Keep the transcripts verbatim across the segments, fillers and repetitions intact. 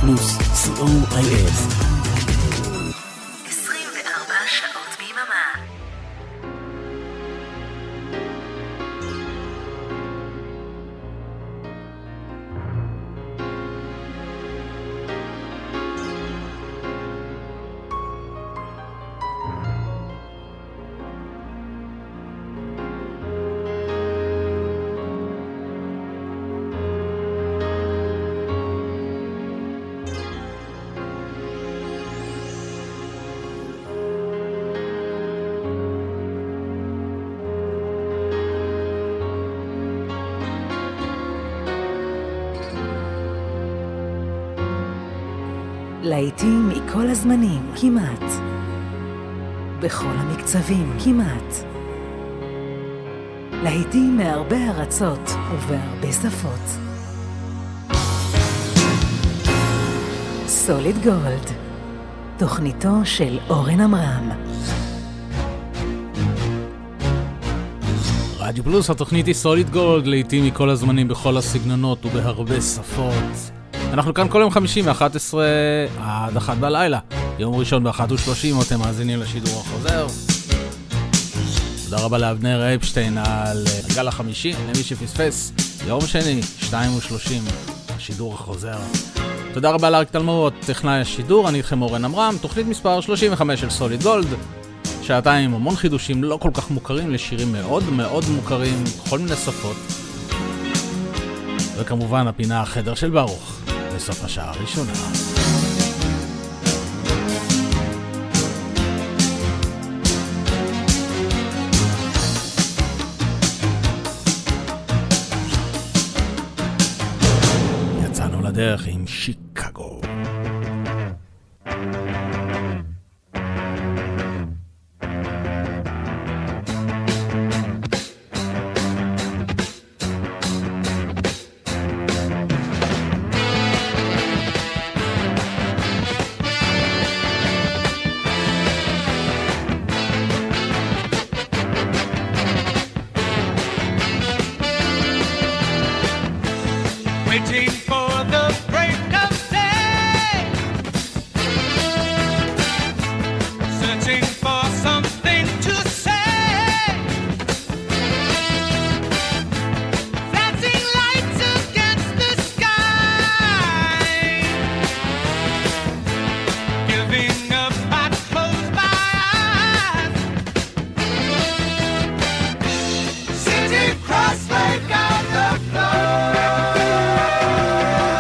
פלוס, סי או איי אס. עשרים וארבע שעות ביממה. להיטים מכל הזמנים, כמעט. בכל המקצבים, כמעט. להיטים מהרבה ארצות ובהרבה שפות. סוליד גולד, תוכניתו של אורן עמרם. רדיו פלוס, התוכנית היא סוליד גולד, להיטים מכל הזמנים, בכל הסגנונות ובהרבה שפות. אנחנו כאן כל יום חמישי מ-אחת עשרה עד אחת בלילה. יום ראשון ב-אחת ושלושים, אתם מאזינים לשידור החוזר. תודה רבה לאבנר אפשטיין על הגל החמישי, למי שפספס. יום שני, שתיים ושלושים, השידור החוזר. תודה רבה לאריק תלמור, טכנאי השידור. אני איתכם אורן עמרם, תוכנית מספר שלושים וחמש של סוליד גולד. שעתיים המון חידושים לא כל כך מוכרים לשירים מאוד מאוד מוכרים, בכל מיני שפות. וכמובן הפינה החדר של ברוך. בסוף השעה הראשונה. יצאנו לדרך עם שיקגו. Cross like on the floor.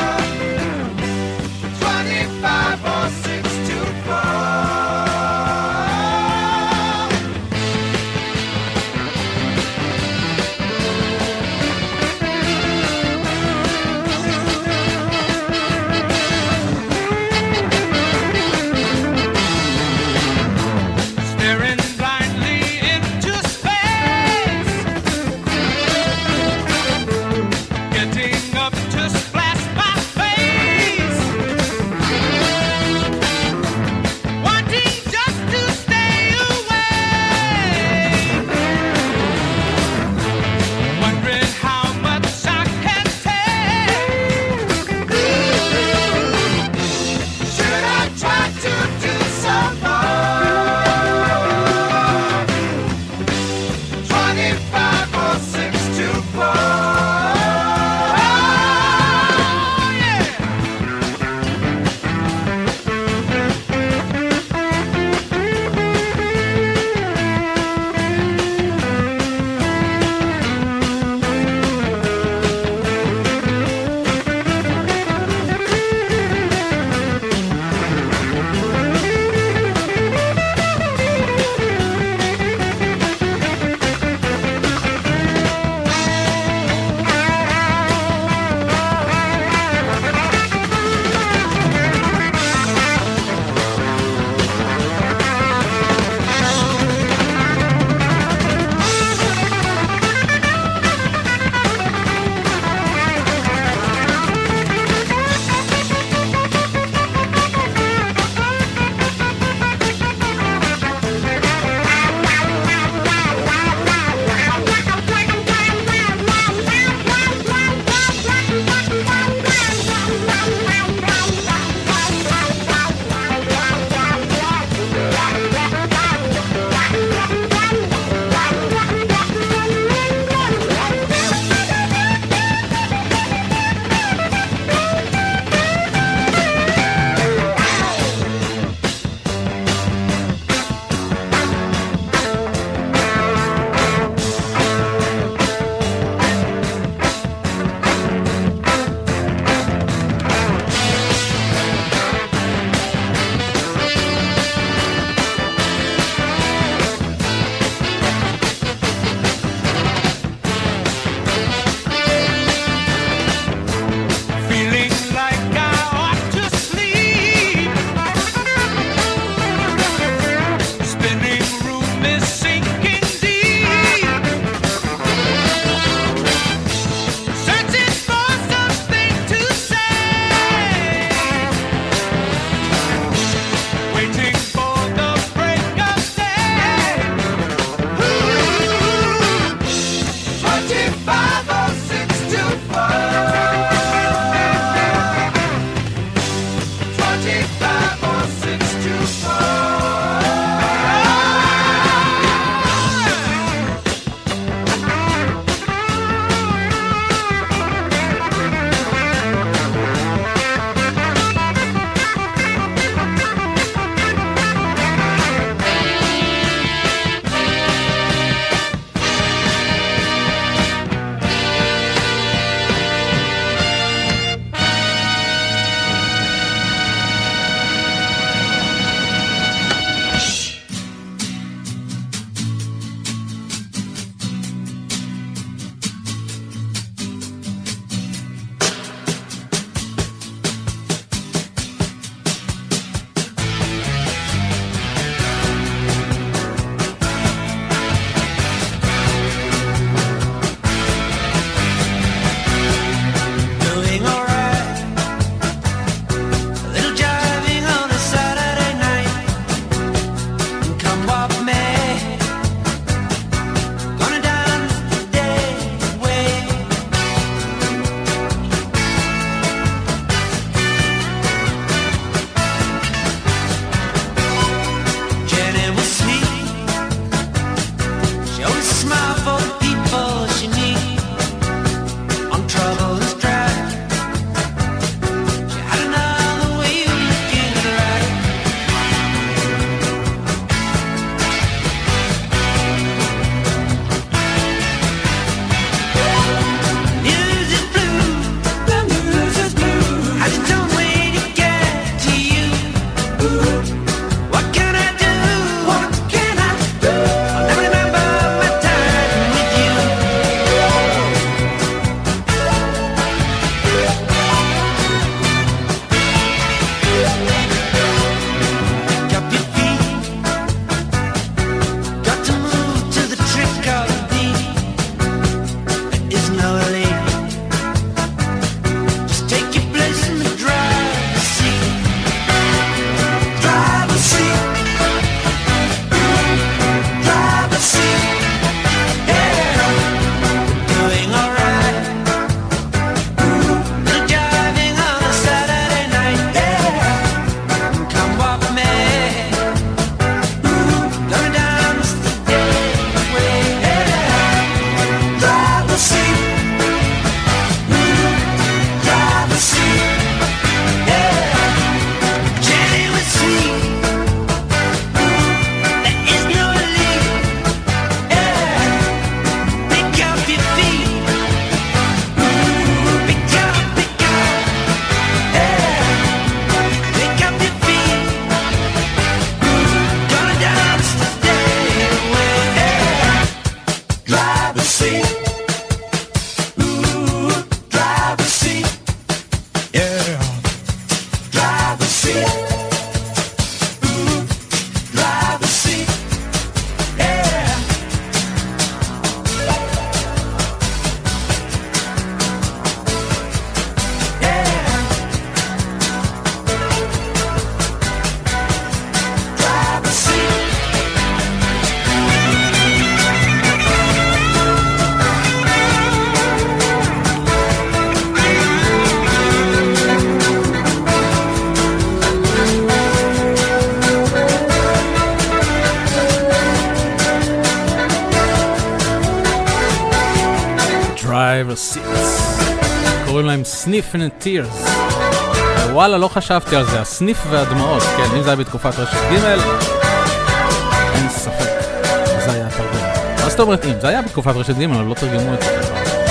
קוראים להם סניף and tears. וואלה, לא חשבתי על זה, הסניף והדמעות. כן, אם זה היה בתקופת רשת ג' אין ספק, זה היה תרגום. אז זאת אומרת, אם זה היה בתקופת רשת ג' אבל לא תרגמו את זה.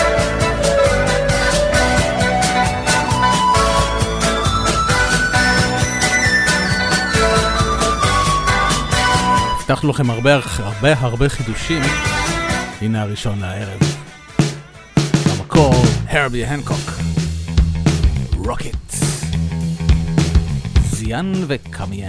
הבטחנו לכם הרבה הרבה הרבה חידושים. הנה הראשון לערב. במקור, הרבי הנקוק. רוקט. זיין וקמיין.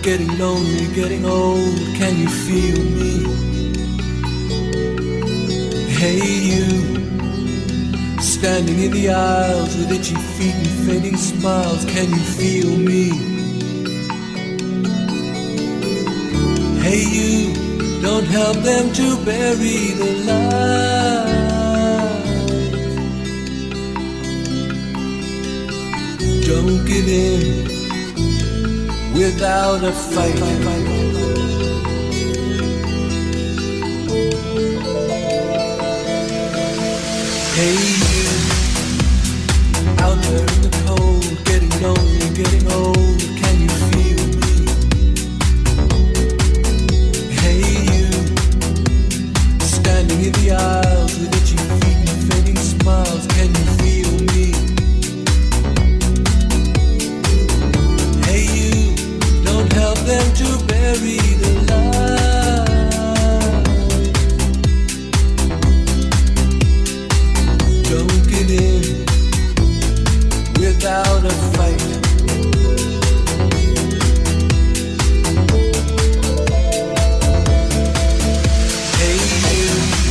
getting lonely, getting old, can you feel me? Hey you, standing in the aisles with itchy feet and fading smiles, can you feel me? Hey you, don't help them to bury the light. Don't give in without a fight. Hey you, out there in the cold, getting lonely, getting old, can you feel me? Hey you, standing in the aisles with itchy feet and fading smiles, can you feel me? Hey you, don't help them to bury the light. Don't get in without a fight. Hey you,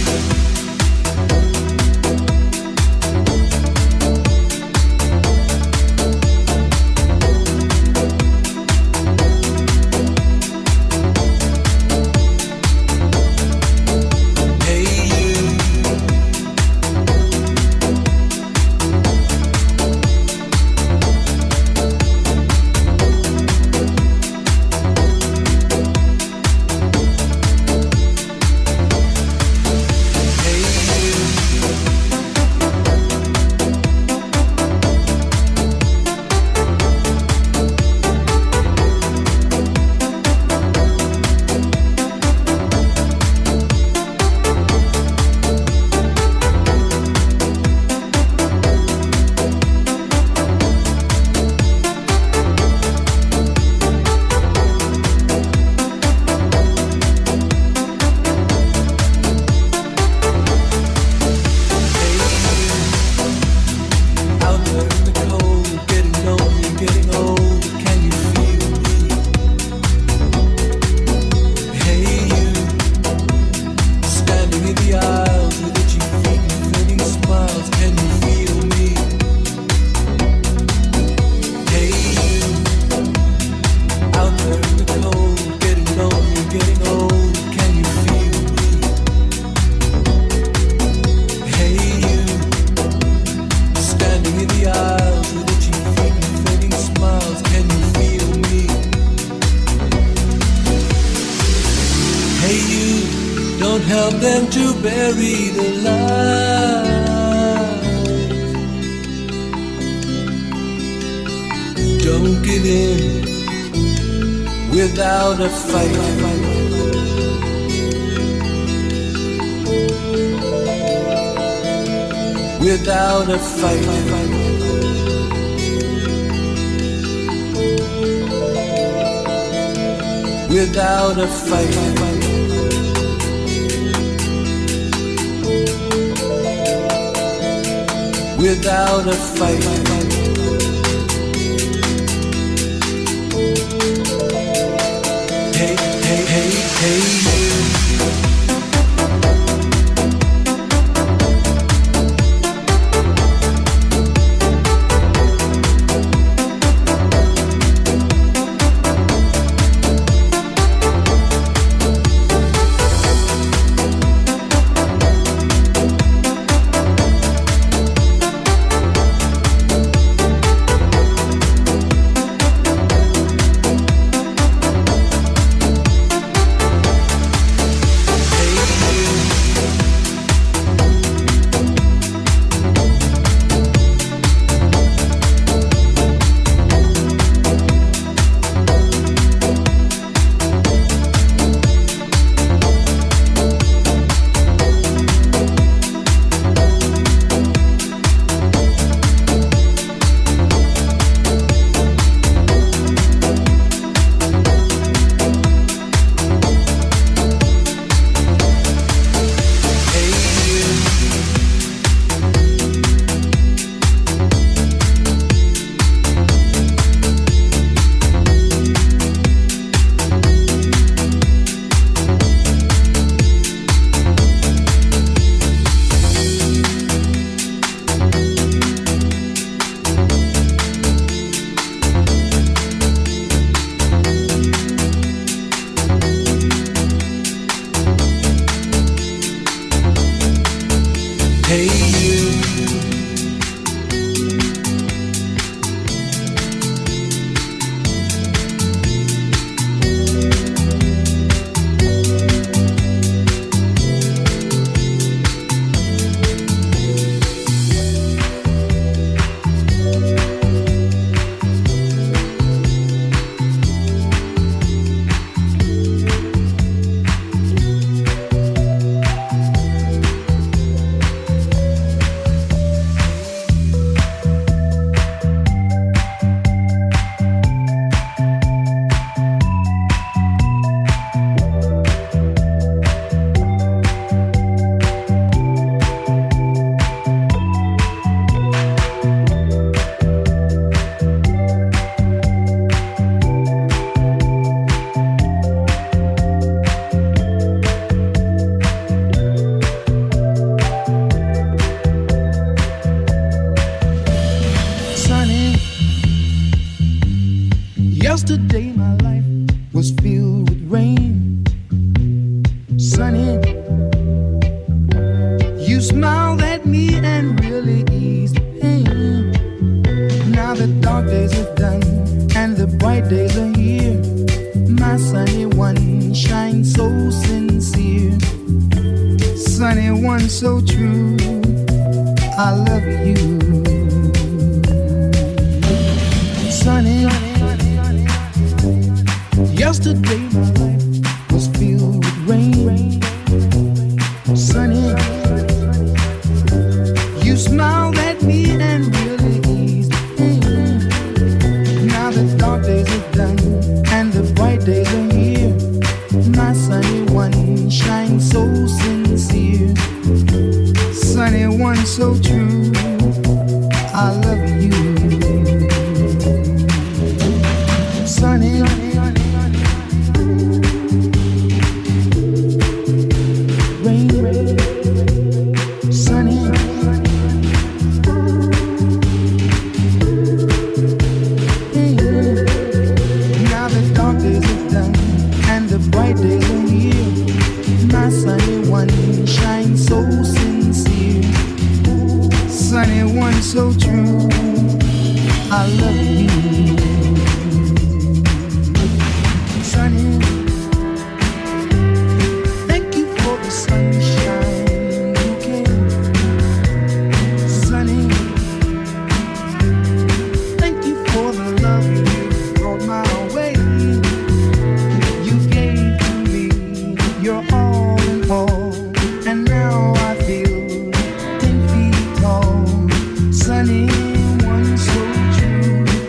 without a fight. Without a fight. Without a fight. Hey, hey, hey, hey, you. Hey you, yesterday my life was filled with rain. Sunny, you smiled at me and really eased the pain. Now the dark days are done and the bright days are here. My sunny one shines so sincere. Sunny one so true, I love you. Sunny, yesterday my life was filled with rain. Sunny, you smiled at me and really eased the pain. Now the dark days are done and the bright days are here. My sunny one shines so sincere. Sunny one so true, I love you. Sunny, rain, sunny, hey. Now the dark days are done and the bright days are here. My sunny one shines so sincere. Sunny one so true, I love you. Sunny, thank you for the sunshine you gave. Sunny, thank you for the love you brought my way. You gave to me your all in all, and now I feel ten feet tall. Sunny, one so true,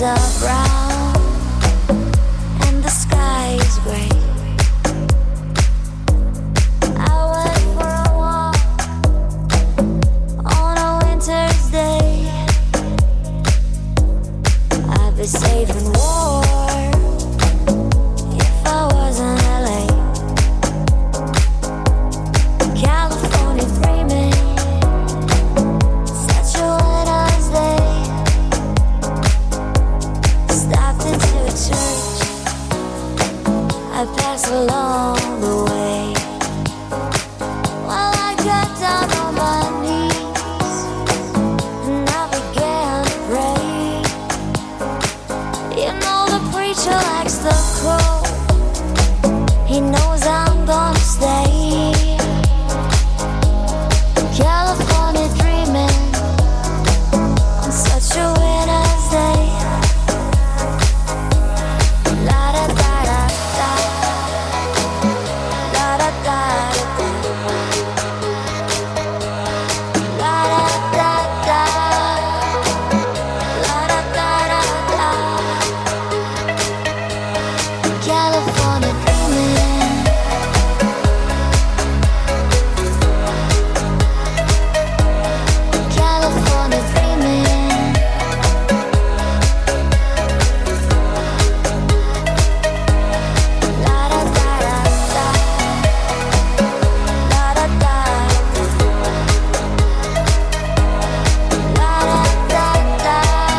are brown and the sky is gray. I went for a walk on a winter's day. I'd be safe and warm if I was in L A. California dreaming, such a winter's day. Stopped into a church, I passed along the way. While I got down on my knees and I began to pray. You know the preacher likes the cold, he knows I'm gonna stay. California dreaming on such a winter's day. La da da da da, la da da da, la da da da, la da da da. California dreaming. California dreaming. La da da da da, la da da da, la da da da,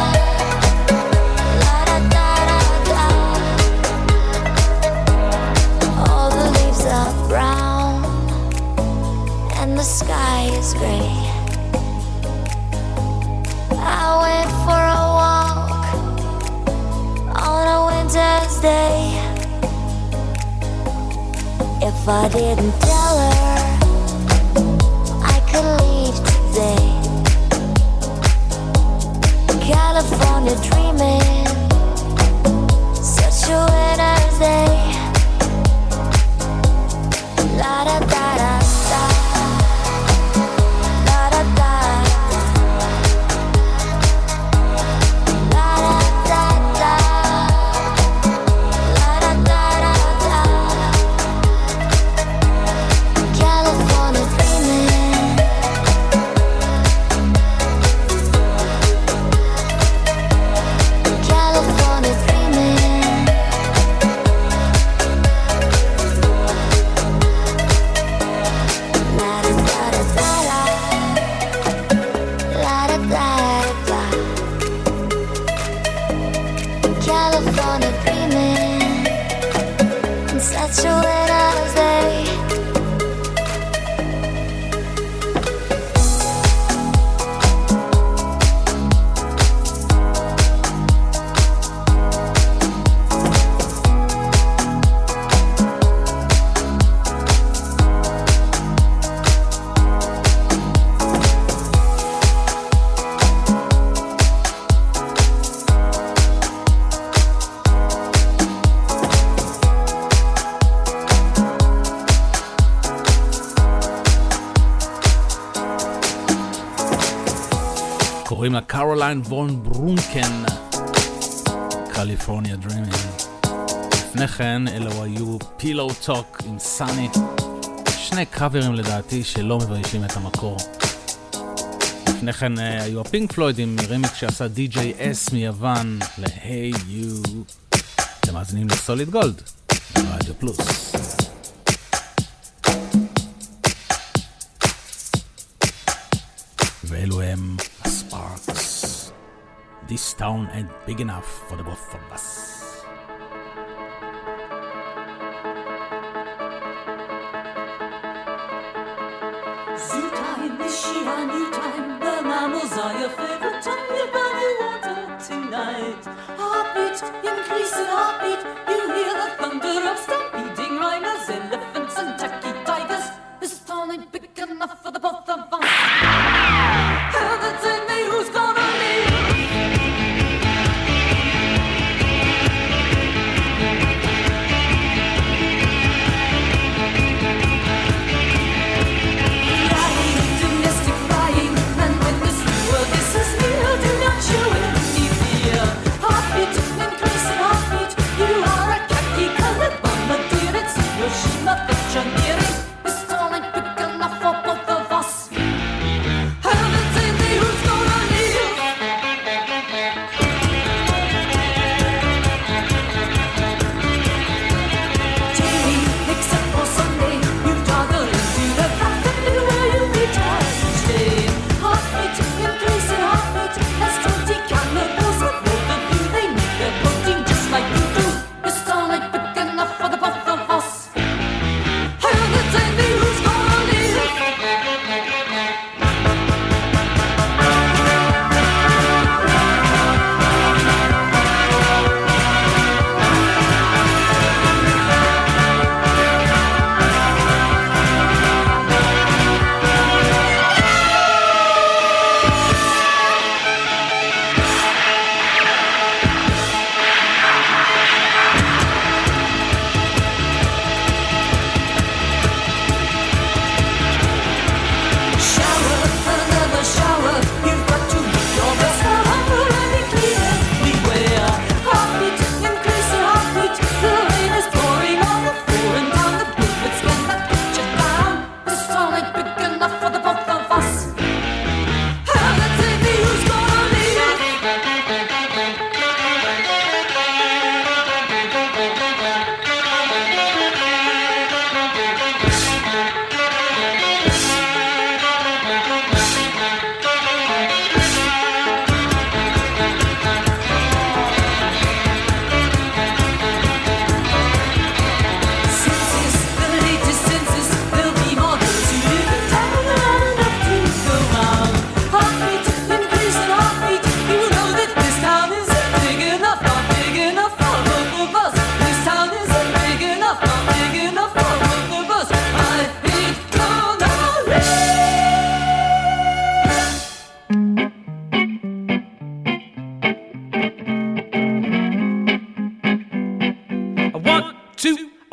la da da da. All the leaves are brown and the sky is gray. I went for a walk on a winter's day. If I didn't tell her I could leave today. California dreaming, such a winter's day. La da da da da, la da da da, la da da da, la da da da. California dreaming. California dreaming. La da da da da, la da da da. California dreaming on such a winter's day. קוראים לה קרוליין וון ברונקן, קליפורניה דרימינג. לפני כן אלו היו פילו טוק עם סאני, שני קאברים לדעתי שלא מביישים את המקור. לפני כן היו הפינק פלויד עם רימיק שעשה די-ג'יי אס מיוון ל-Hey You. אתם מאזינים לסוליד גולד, רדיו פלוס. ואלו הם הספארקס. This town ain't big enough for the both of us. Zoo time, is she a new time? The mammals are your favorite time. You buy water tonight. Heartbeat, increasing heartbeat. You hear the thunder of stampeding rhinos, elephants and tacky tigers. This town ain't big enough for the both of us. Heaven me who's gonna leave. Happy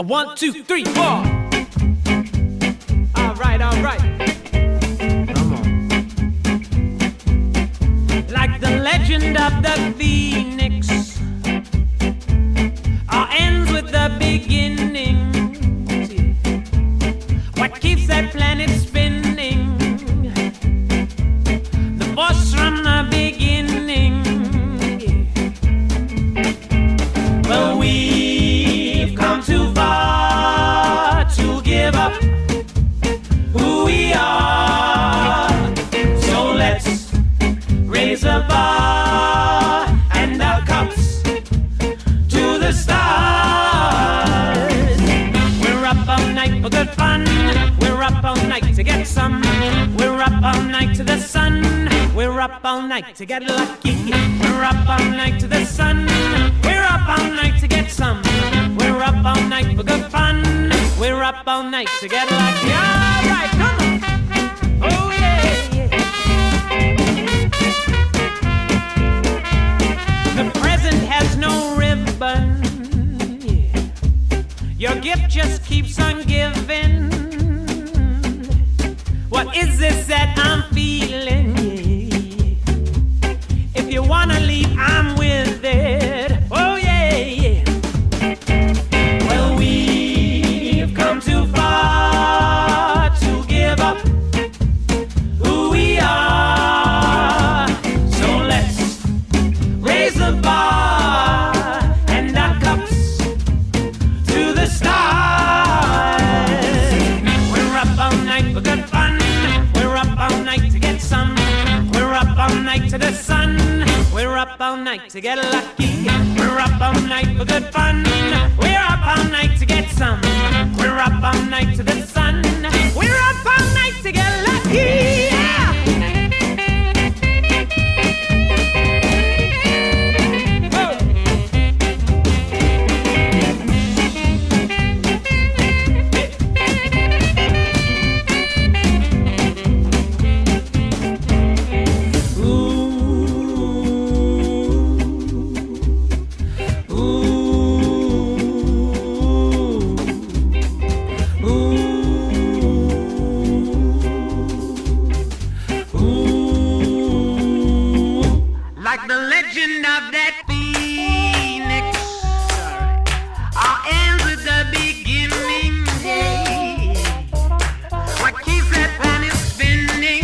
One, two, three, four. All right, all right. Come on. Like the legend of the Phoenix, all ends with the beginning. What keeps that planet spinning? The force from the beginning. Well, we've come too far to give up who we are. So let's raise a bar and our cups to the stars. We're up all night for good fun. We're up all night to get some. We're up all night to the sun. We're up all night to get lucky. We're up all night to the sun. We're up all night to get some. We're up all night for good fun. We're up all night to get lucky. All right, come on. Oh yeah, yeah. The present has no ribbon. Your gift just keeps on giving. What is this that I'm feeling? If you wanna leave, I'm with it. Oh yeah, yeah. Well, we've come too far to give up who we are. So let's raise the bar and our cups to the stars. We're up all night for good fun. We're up all night to get some. We're up all night to the sun. We're up all night to get lucky. We're up all night for good fun. We're up all night to get some. We're up all night to the sun. We're up all night to get lucky. Yeah! Like the legend of that phoenix, all ends with the beginning. What keeps that planet spinning?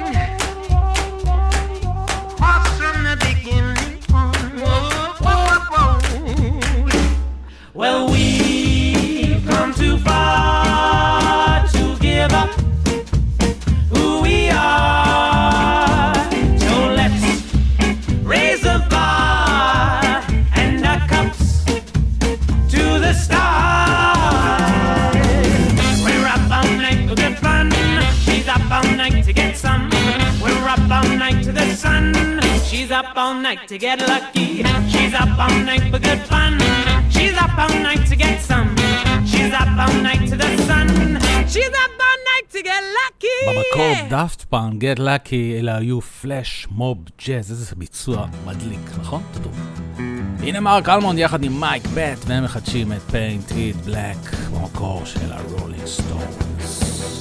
Off from the beginning. Whoa, whoa, whoa. Well, we've come too far to give up who we are. So let's raise a bar and our cups to the stars. We're up all night for good fun. She's up all night to get some. We're up all night to the sun. She's up all night to get lucky. She's up all night for good fun. She's up all night to get some. She's up all night to the sun. She's up all night to get lucky. במקור דאפט פאנק, Get Lucky, אלה היו פלאש מוב ג'אז, איזה ביצוע מדליק, נכון? תדעו. הנה מרק אלמונד יחד עם מייק בט, והם מחדשים את Paint It Black במקור של הרולינג סטונס.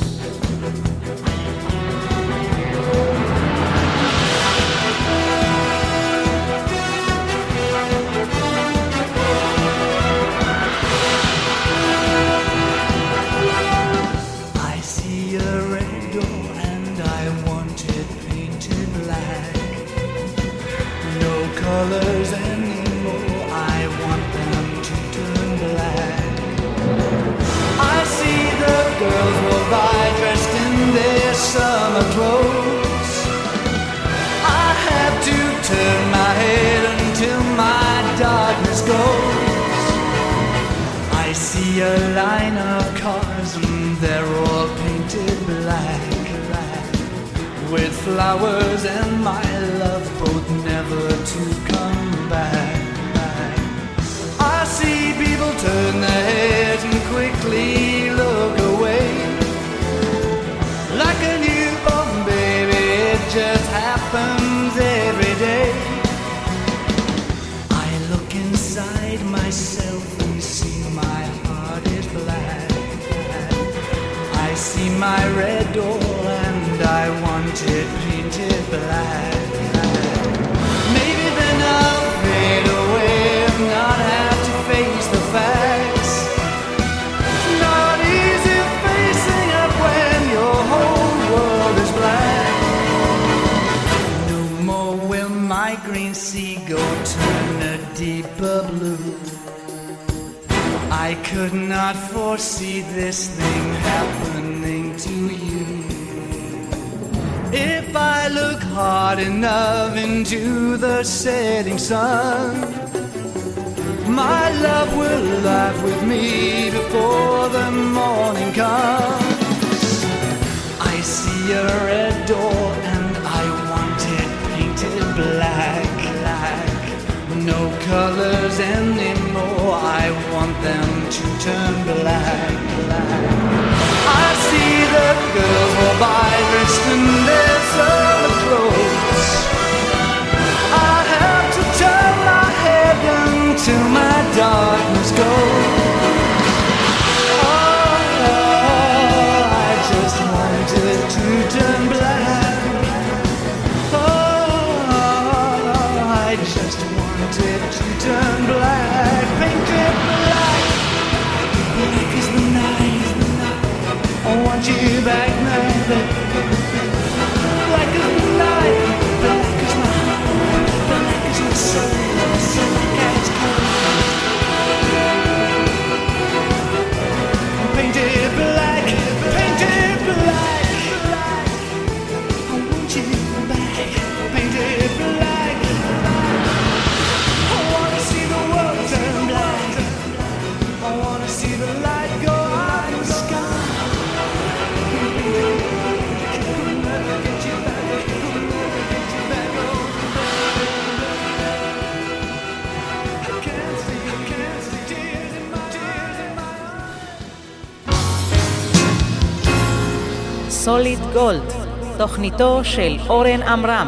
Colors anymore, I want them to turn black. I see the girls roll by dressed in their summer clothes. I have to turn my head until my darkness goes. I see a line of cars and they're all painted black, with flowers and my love both never to come back. I see people turn their heads and quickly look away. Like a newborn baby, it just happens every day. I look inside myself and see my heart is black. red door and I want it painted black. Maybe then I'll fade away and not have to face the facts. It's not easy facing up when your whole world is black. No more will my green seagull turn a deeper blue. I could not foresee this thing happening to you. If I look hard enough into the setting sun, my love will laugh with me before the morning comes. I see a red door and I want it painted black, black. No colors anymore, I want them to turn black, black. I see the girls go by dressed in their summer clothes. I have to turn my head until my darkness goes. Oh, I just wanted to turn black. Oh, I just wanted to turn black, painted black. Black is the night. I want you back now, baby. Black is the night, black is my heart, black is my soul, so black as cold. Painted black, painted black. I want you back, painted black. I wanna see the world turn black. I wanna see the light go out in the sky. סוליד גולד, תוכניתו של אורן עמרם.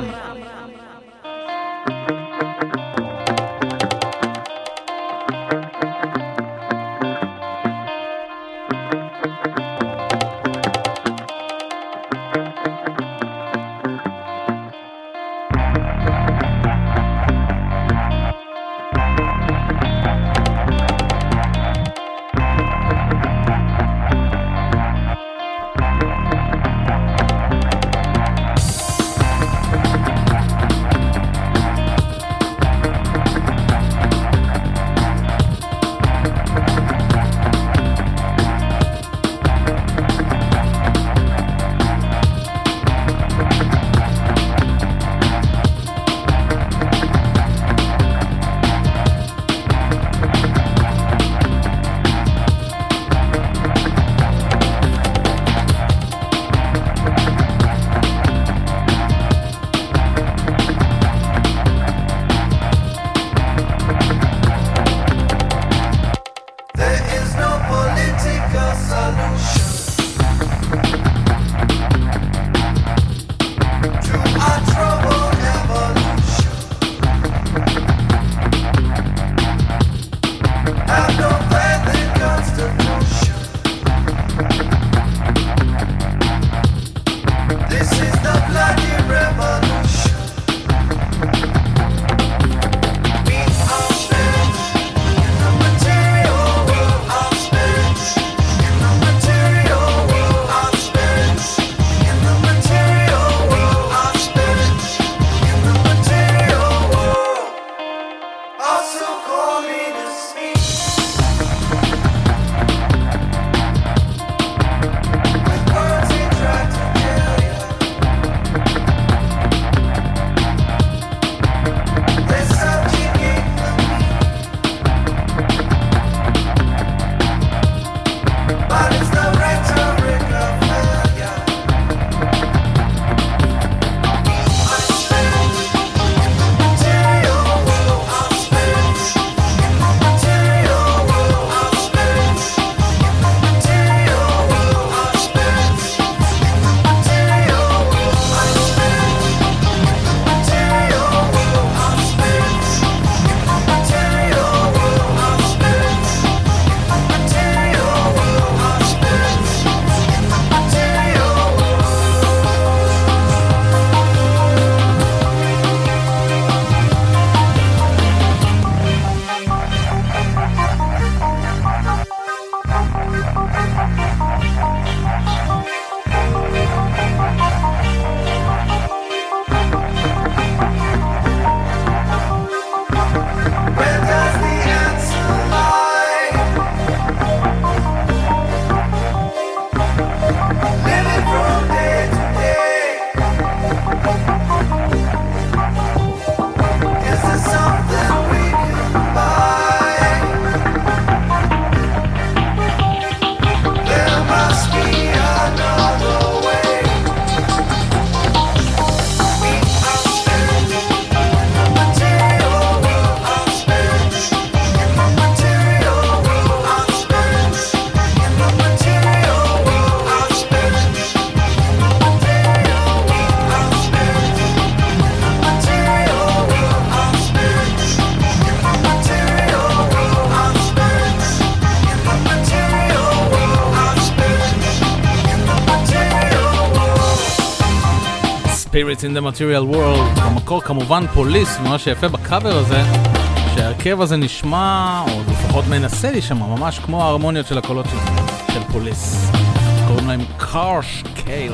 Spirits in the Material World, במקור כמובן פוליס, מה שיפה בקאבר הזה, שהרכב הזה נשמע, או לפחות מנסה להישמע, ממש כמו ההרמוניות של הקולות של, של פוליס. קוראים להם קארש קייל.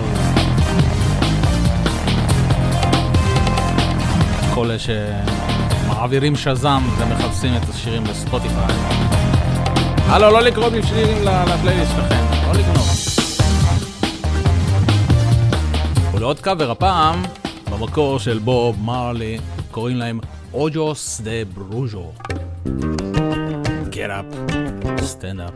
כל אלה שמעבירים שזם ומחפשים את השירים בספוטיפיי. הלו, לא לקרוא שירים לפלייליסט שלכם, לא לגנוב. ולעוד קאבר הפעם, במקור של בוב מרלי, קוראים להם אוג'וס דה ברוז'ו. Get up, stand up.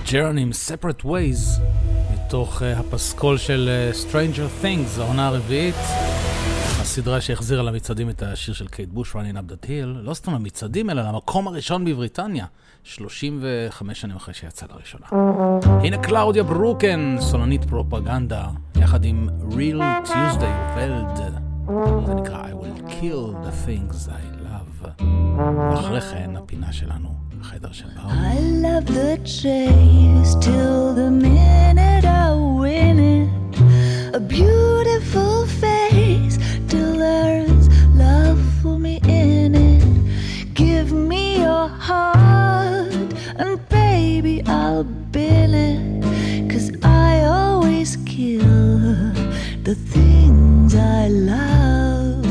ג'רנים, Separate Ways, מתוך uh, הפסקול של uh, Stranger Things, העונה הרביעית, הסדרה שהחזירה למצעדים את השיר של קייט בוש, Running Up That Hill, לא סתם למצעדים, אלא למקום הראשון בבריטניה, שלושים וחמש שנים אחרי שיצא לראשונה. הנה קלאודיה ברוקן, סולנית פרופגנדה, יחד עם Real Tuesday Weld, זה נקרא I Will Kill the Things I Love, ואחרי כן הפינה שלנו, החדר של באו. I love the chase till the minute I win it, a beautiful face till there's love for me in it. Give me your heart and baby I'll bill it, 'cause I always kill the things I love.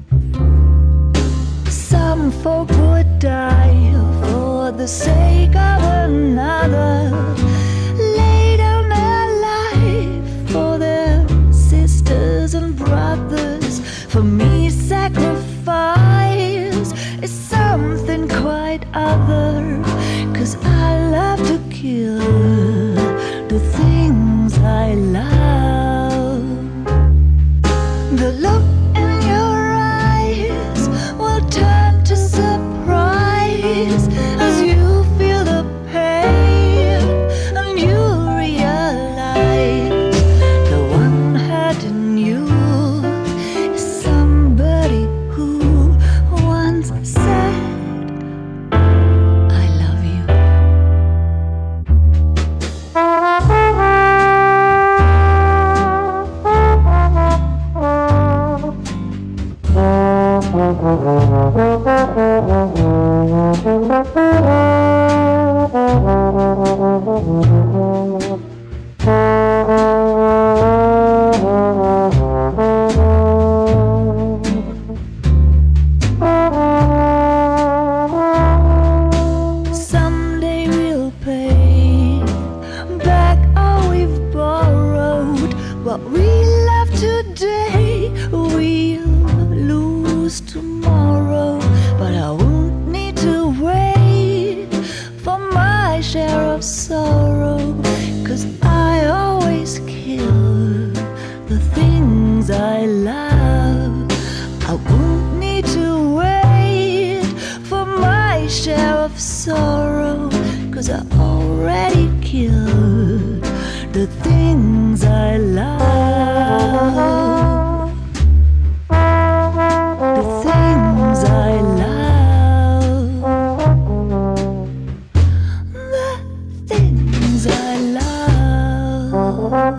Some folk would die for the sake of another, lay down their life for their sisters and brothers. For me sacrifice is something quite other, 'cause I love to kill the things I love. The look in your eyes will turn to surprise as you feel the pain and you realize the one hurting you is somebody who once said I love you. Someday we'll pay back all we've borrowed. What we love today we'll lose tomorrow, but I won't need to wait for my share of sorrow, 'cause I always kill the things I love. I won't need to wait for my share of sorrow, 'cause I already killed the things I love. The things I love. The things I love.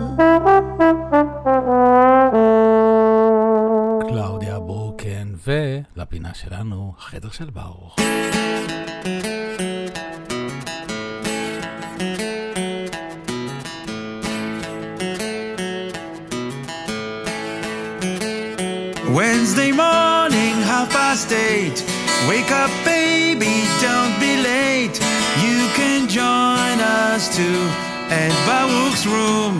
קלאודיה ברוקן, ולפינה שלנו, החדר של ברוך. Wednesday morning, half past eight. Wake up, baby, don't be late. You can join us too at Baruch's room.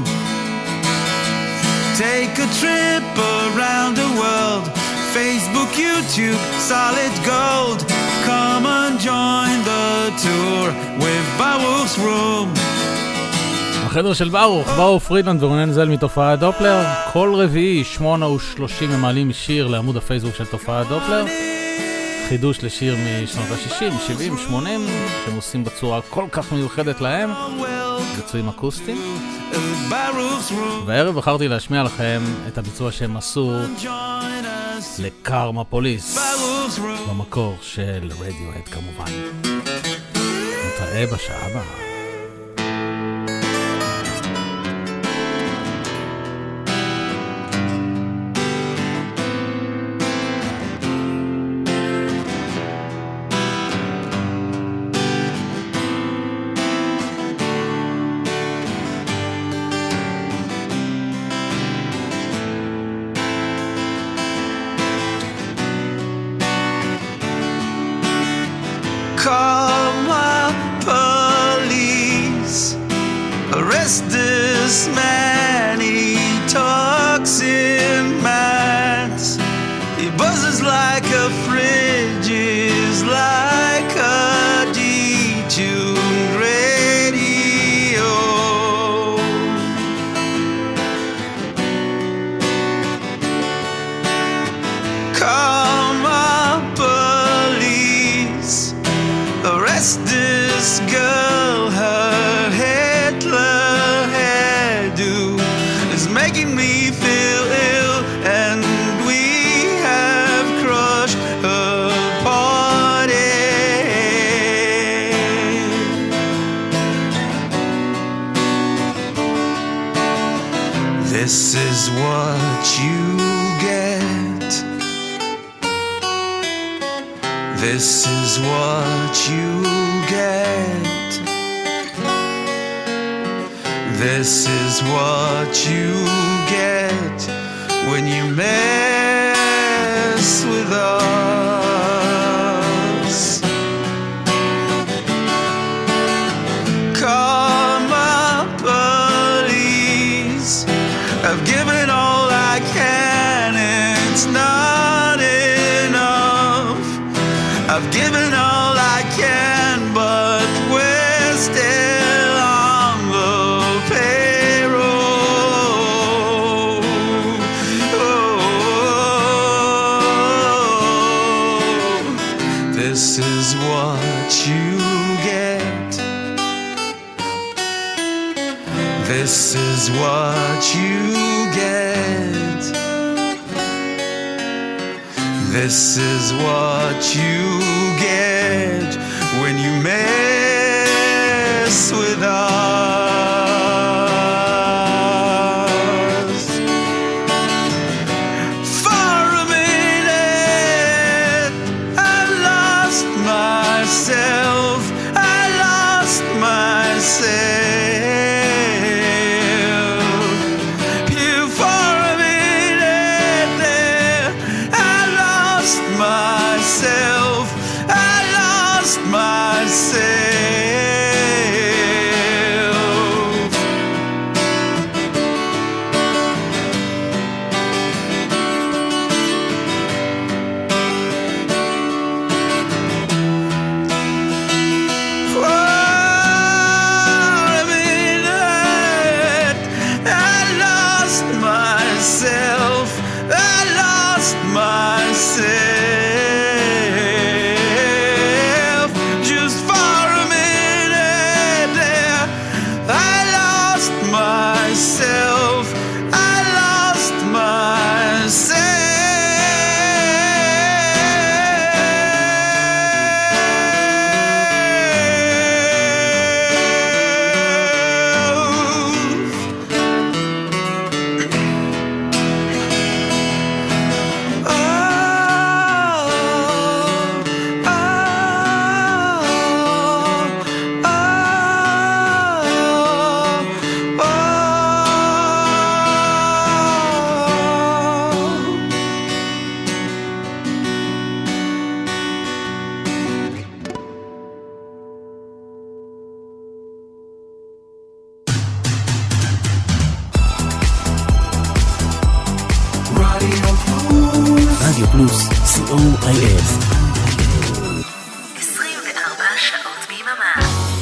Take a trip around the world. Facebook, YouTube, solid gold. Come and join the tour with Baruch's room. החדר של ברוך, ברוך פרידלנד ורונן זל מתופעת דופלר. כל רביעי, שמונה ושלושים הם מעלים שיר לעמוד הפייסבוק של תופעת דופלר. חידוש לשיר משנות ה-שישים, שבעים, שמונים, שהם עושים בצורה כל כך מיוחדת להם, ביצועים אקוסטיים. והערב בחרתי להשמיע לכם את הביצוע שהם עשו לקרמה פוליס, במקור של רדיוהד כמובן. נתראה בשעה הבאה. Call my police. Arrest this man. He talks in maths. He buzzes like a fridge. Is like a detuned radio. Yes, this girl, her Hitler hairdo is making me feel ill, and we have crushed her party. This is what you get. This is what you get. This is what you get when you mess with us. Call my police. I've given all I can, it's not enough. I've given all I can, but we're still on the payroll. Oh, this is what you get. This is what you get. This is what you get when you mess with us. For a minute, I lost myself. I lost myself. Myself, I lost myself. For a minute, I lost myself. I lost myself. Myself, I lost myself. רדיו פלוס, סי או איי אס. עשרים וארבע שעות ביממה.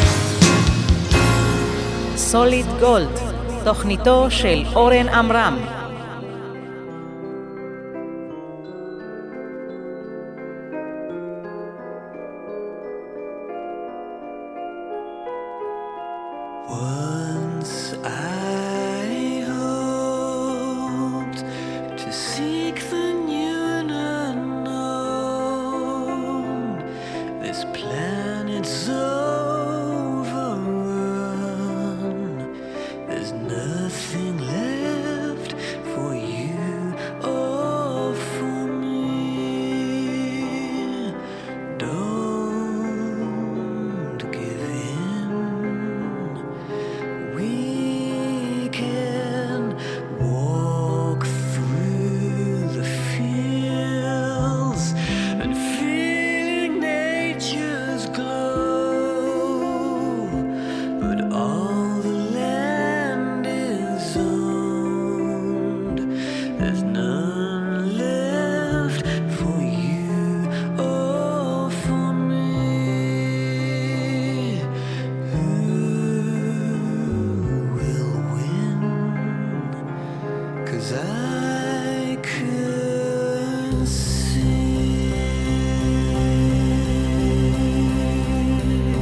סוליד גולד, תוכניתו של אורן עמרם. see.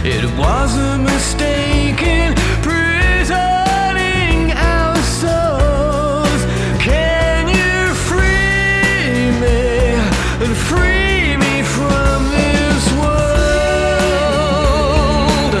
It was a mistake in prisoning our souls. Can you free me and free me from this world?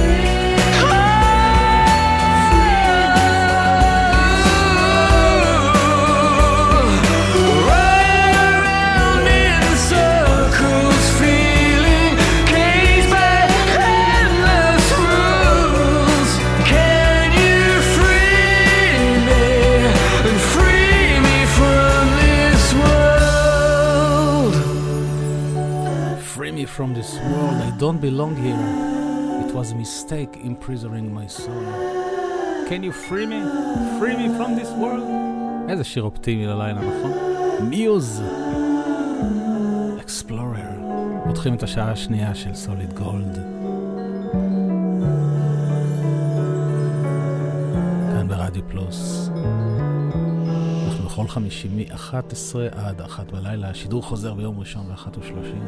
Running around in circles, feeling caged by endless rules. Can you free me and free me from this world? Free me from this world, I don't belong here. It was a mistake imprisoning my soul. Can you free me? Free me from this world? איזה שיר אופטימי ללילה, נכון? מיוז! אקספלורר. פותחים את השעה השנייה של סוליד גולד. כאן ברדיו פלוס. אנחנו בכל חמישי מ-אחת עשרה עד אחת בלילה. השידור חוזר ביום ראשון ב-אחת ושלושים.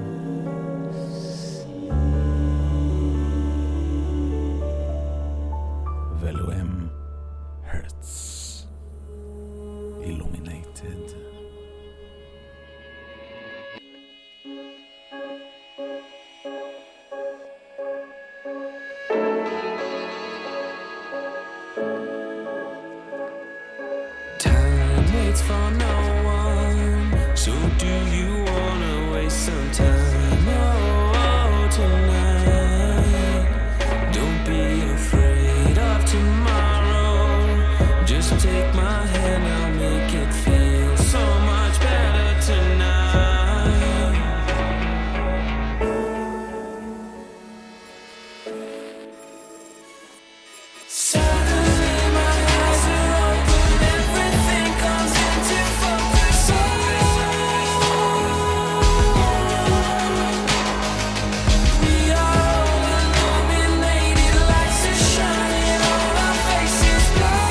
ואלו הם הרטס. Illuminated. Time waits for no one, so do you wanna waste some time? Oh, tonight, don't be afraid of tomorrow. Just take my hand, I'll make it feel so much better tonight. Suddenly my eyes are open, everything comes into focus. We are all illuminated, lights are shining on our faces.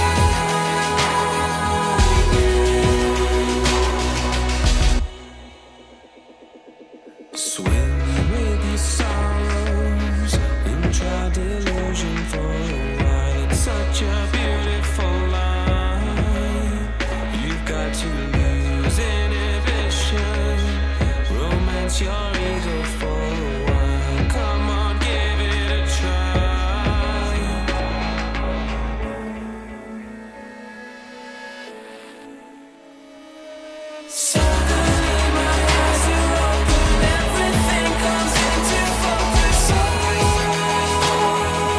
Swim with your sorrows and try delusion for a while. It's such a beautiful line. You've got to lose inhibition, romance your ego for a while. Come on, give it a try. Suddenly my eyes are open, everything comes into focus.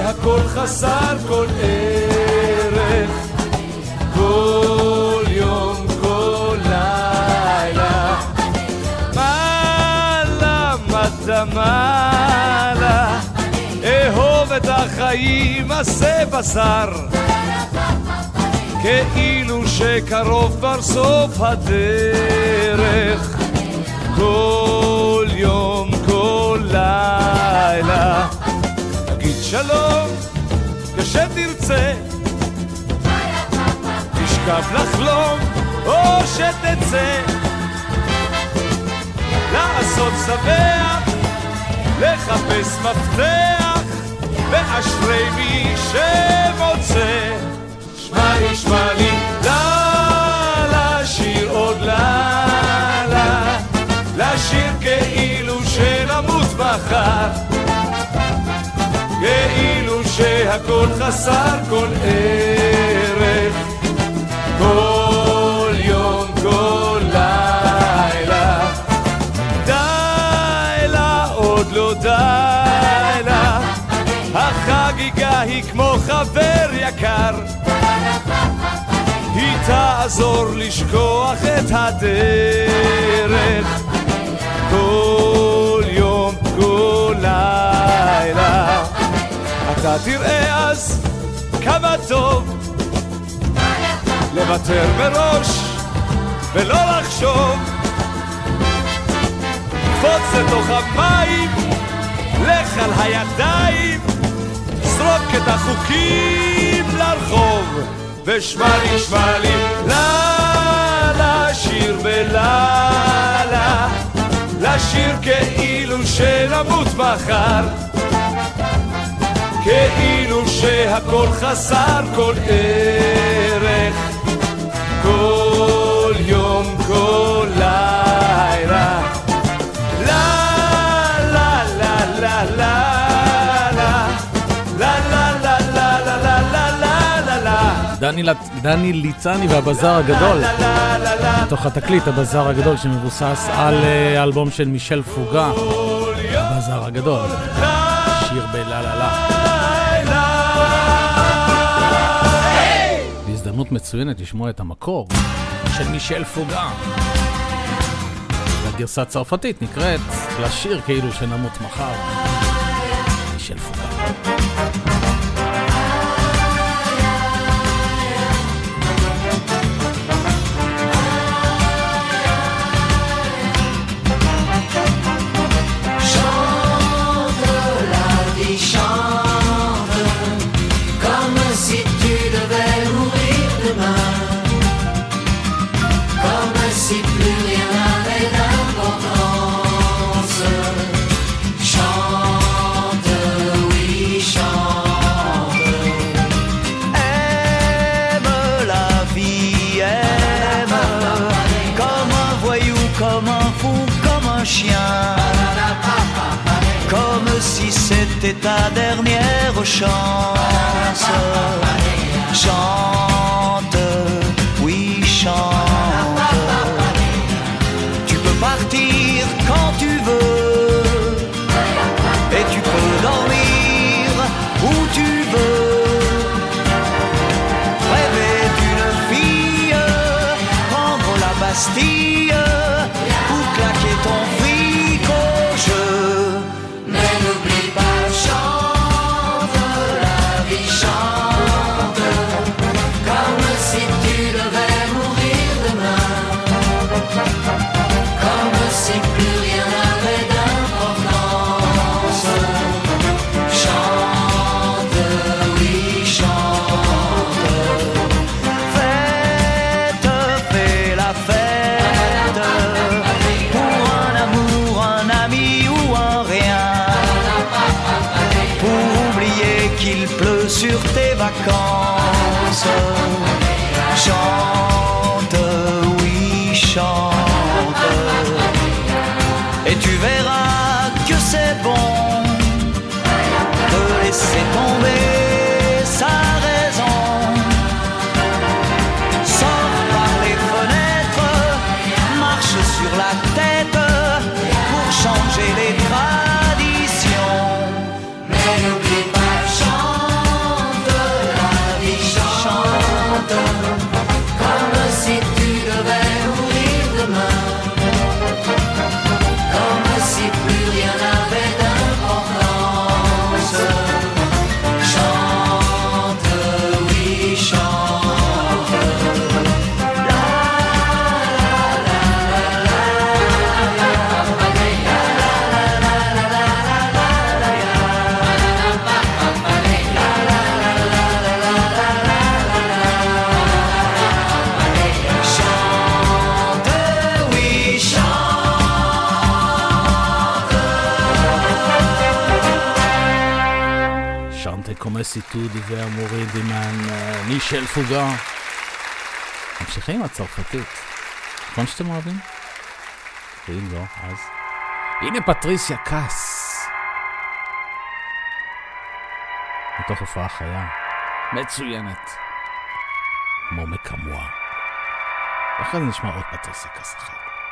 שהכל חסר כל ערך, כל יום, כל לילה. מעלה מטה מעלה, אהוב את החיים, עשה בשר, כאילו שקרוב כבר סוף הדרך, כל יום, כל לילה. תגיד שלום כשתרצה, תשכב לחלום או שתצא, לעשות שמח, לחפש מפתח, ואשרי מי שמוצא. שמע לי, שמע לי, לה, לשיר עוד לה, לשיר כאילו שנמות מחר, כאילו שהכל חסר כל ערך, כל יום, כל לילה. די לה, עוד לא די לה, החגיגה היא כמו חבר יקר, היא תעזור לשכוח את הדרך, כל יום, כל לילה. אתה תראה אז כמה טוב לוותר מראש ולא לחשוב, קפוץ לתוך המים, לך על הידיים, זרוק את החוקים לרחוב, ושמע לי, שמע לי, לה, לשיר בלילה, לשיר כאילו שנמות מחר, כאילו שהכל חסר כל ערך, כל יום, כל לילה. לה, לה, לה, לה, לה, דני ליצני והבזאר הגדול, מתוך התקליט הבזאר הגדול שמבוסס על האלבום של מישל פוגה, הבזאר הגדול, שיר בללה. הזדמנות מצוינת לשמוע את המקור של מישל פוגה, והגרסה הצרפתית נקראת לשיר כאילו שנמות מחר, מישל פוגה. Comme si c'était ta dernière chance. Chante, oui chante. Tu peux partir quand tu veux, et tu peux dormir où tu veux. Rêver d'une fille, prendre la Bastille, ou claquer ton fric au jeu. Mais n'oublie pas, chante, la vie chante, comme si tu devais mourir demain, comme si plus rien n'avait d'importance. Chante, oui chante. Fête, fais la fête, pour un amour, un ami ou un rien, pour oublier qu'il pleut sur tes vacances. Chante, oui chante, et tu verras que c'est bon de laisser tomber sa raison. Sors par les fenêtres, marche sur la tête changer les traditions. Mais n'oublie pas, chante. לסיטוד והמורי דימן מישל פוגה. ממשיכים עם הצרפתית. נכון שאתם אוהבים? ואם לא, אז... הנה פטריסיה קאס. מתוך הופעה חיה. מצוינת. מומה כמוה. ואחרי זה נשמע עוד פטריסיה קאס אחת.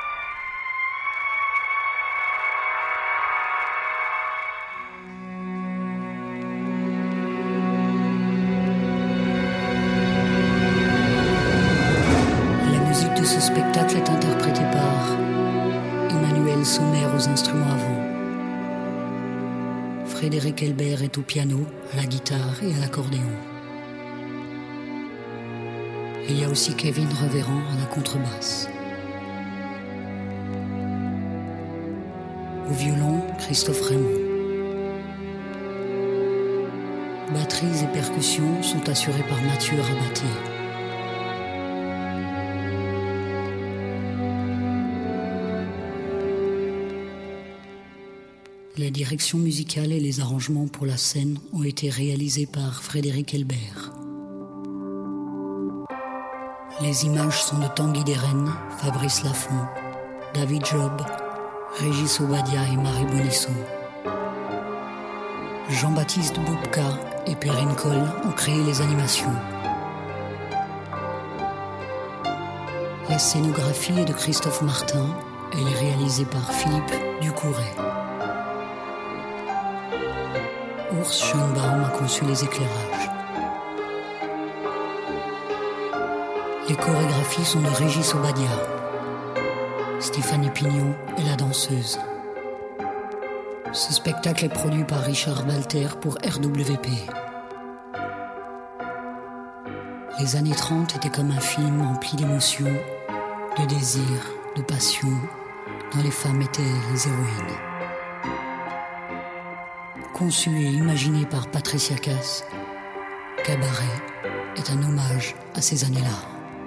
Ce spectacle est interprété par Emmanuel Sommer aux instruments avant. Frédéric Elbert est au piano, à la guitare et à l'accordéon. Il y a aussi Kevin Reverand à la contrebasse. Au violon, Christophe Raymond. Batteries et percussions sont assurées par Mathieu Rabatier. Les directions musicales et les arrangements pour la scène ont été réalisés par Frédéric Elbert. Les images sont de Tanguy Deren, Fabrice Lafont, David Job, Régis Obadia et Marie Bonisseau. Jean-Baptiste Boubka et Perrine Coll ont créé les animations. La scénographie est de Christophe Martin, elle est réalisée par Philippe Ducouret. Urs Schönbaum a conçu les éclairages. Les chorégraphies sont de Régis Obadia. Stéphanie Pignon est la danseuse. Ce spectacle est produit par Richard Walter pour R W P. Les années trente étaient comme un film empli d'émotions, de désir, de passion, dont les femmes étaient les héroïnes. Conçu et imaginé par Patricia Cass, Cabaret est un hommage à ces années-là.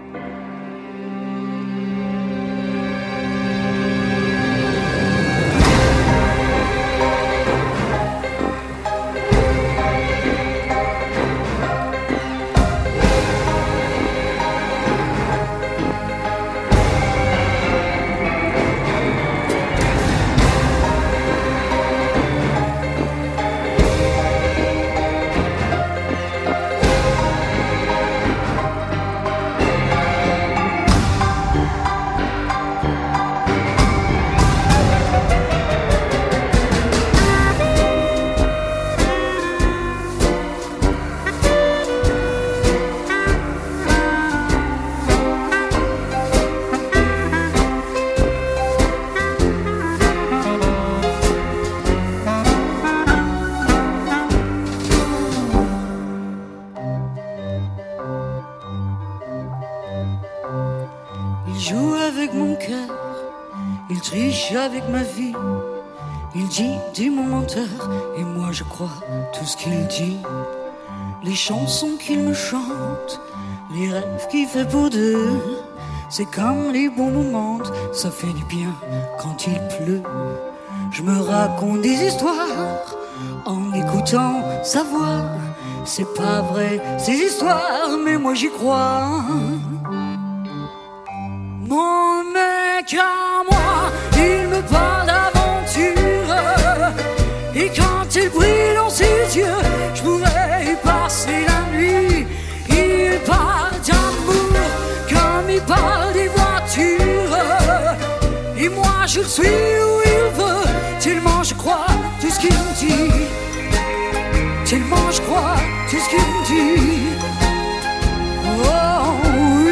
Avec ma vie, il dit du mon menteur, et moi je crois tout ce qu'il dit. Les chansons qu'il me chante, les rêves qu'il fait pour deux, c'est comme les bons moments, ça fait du bien quand il pleut. Je me raconte des histoires en écoutant sa voix. C'est pas vrai ces histoires, mais moi j'y crois. Mon mec à moi, il me parle d'aventure, et quand il brille dans ses yeux, je pourrais y passer la nuit. Il parle d'amour comme il parle des voitures, et moi je le suis où il veut, tellement je crois tout ce qu'il me dit, tellement je crois tout ce qu'il me dit. Oh oui.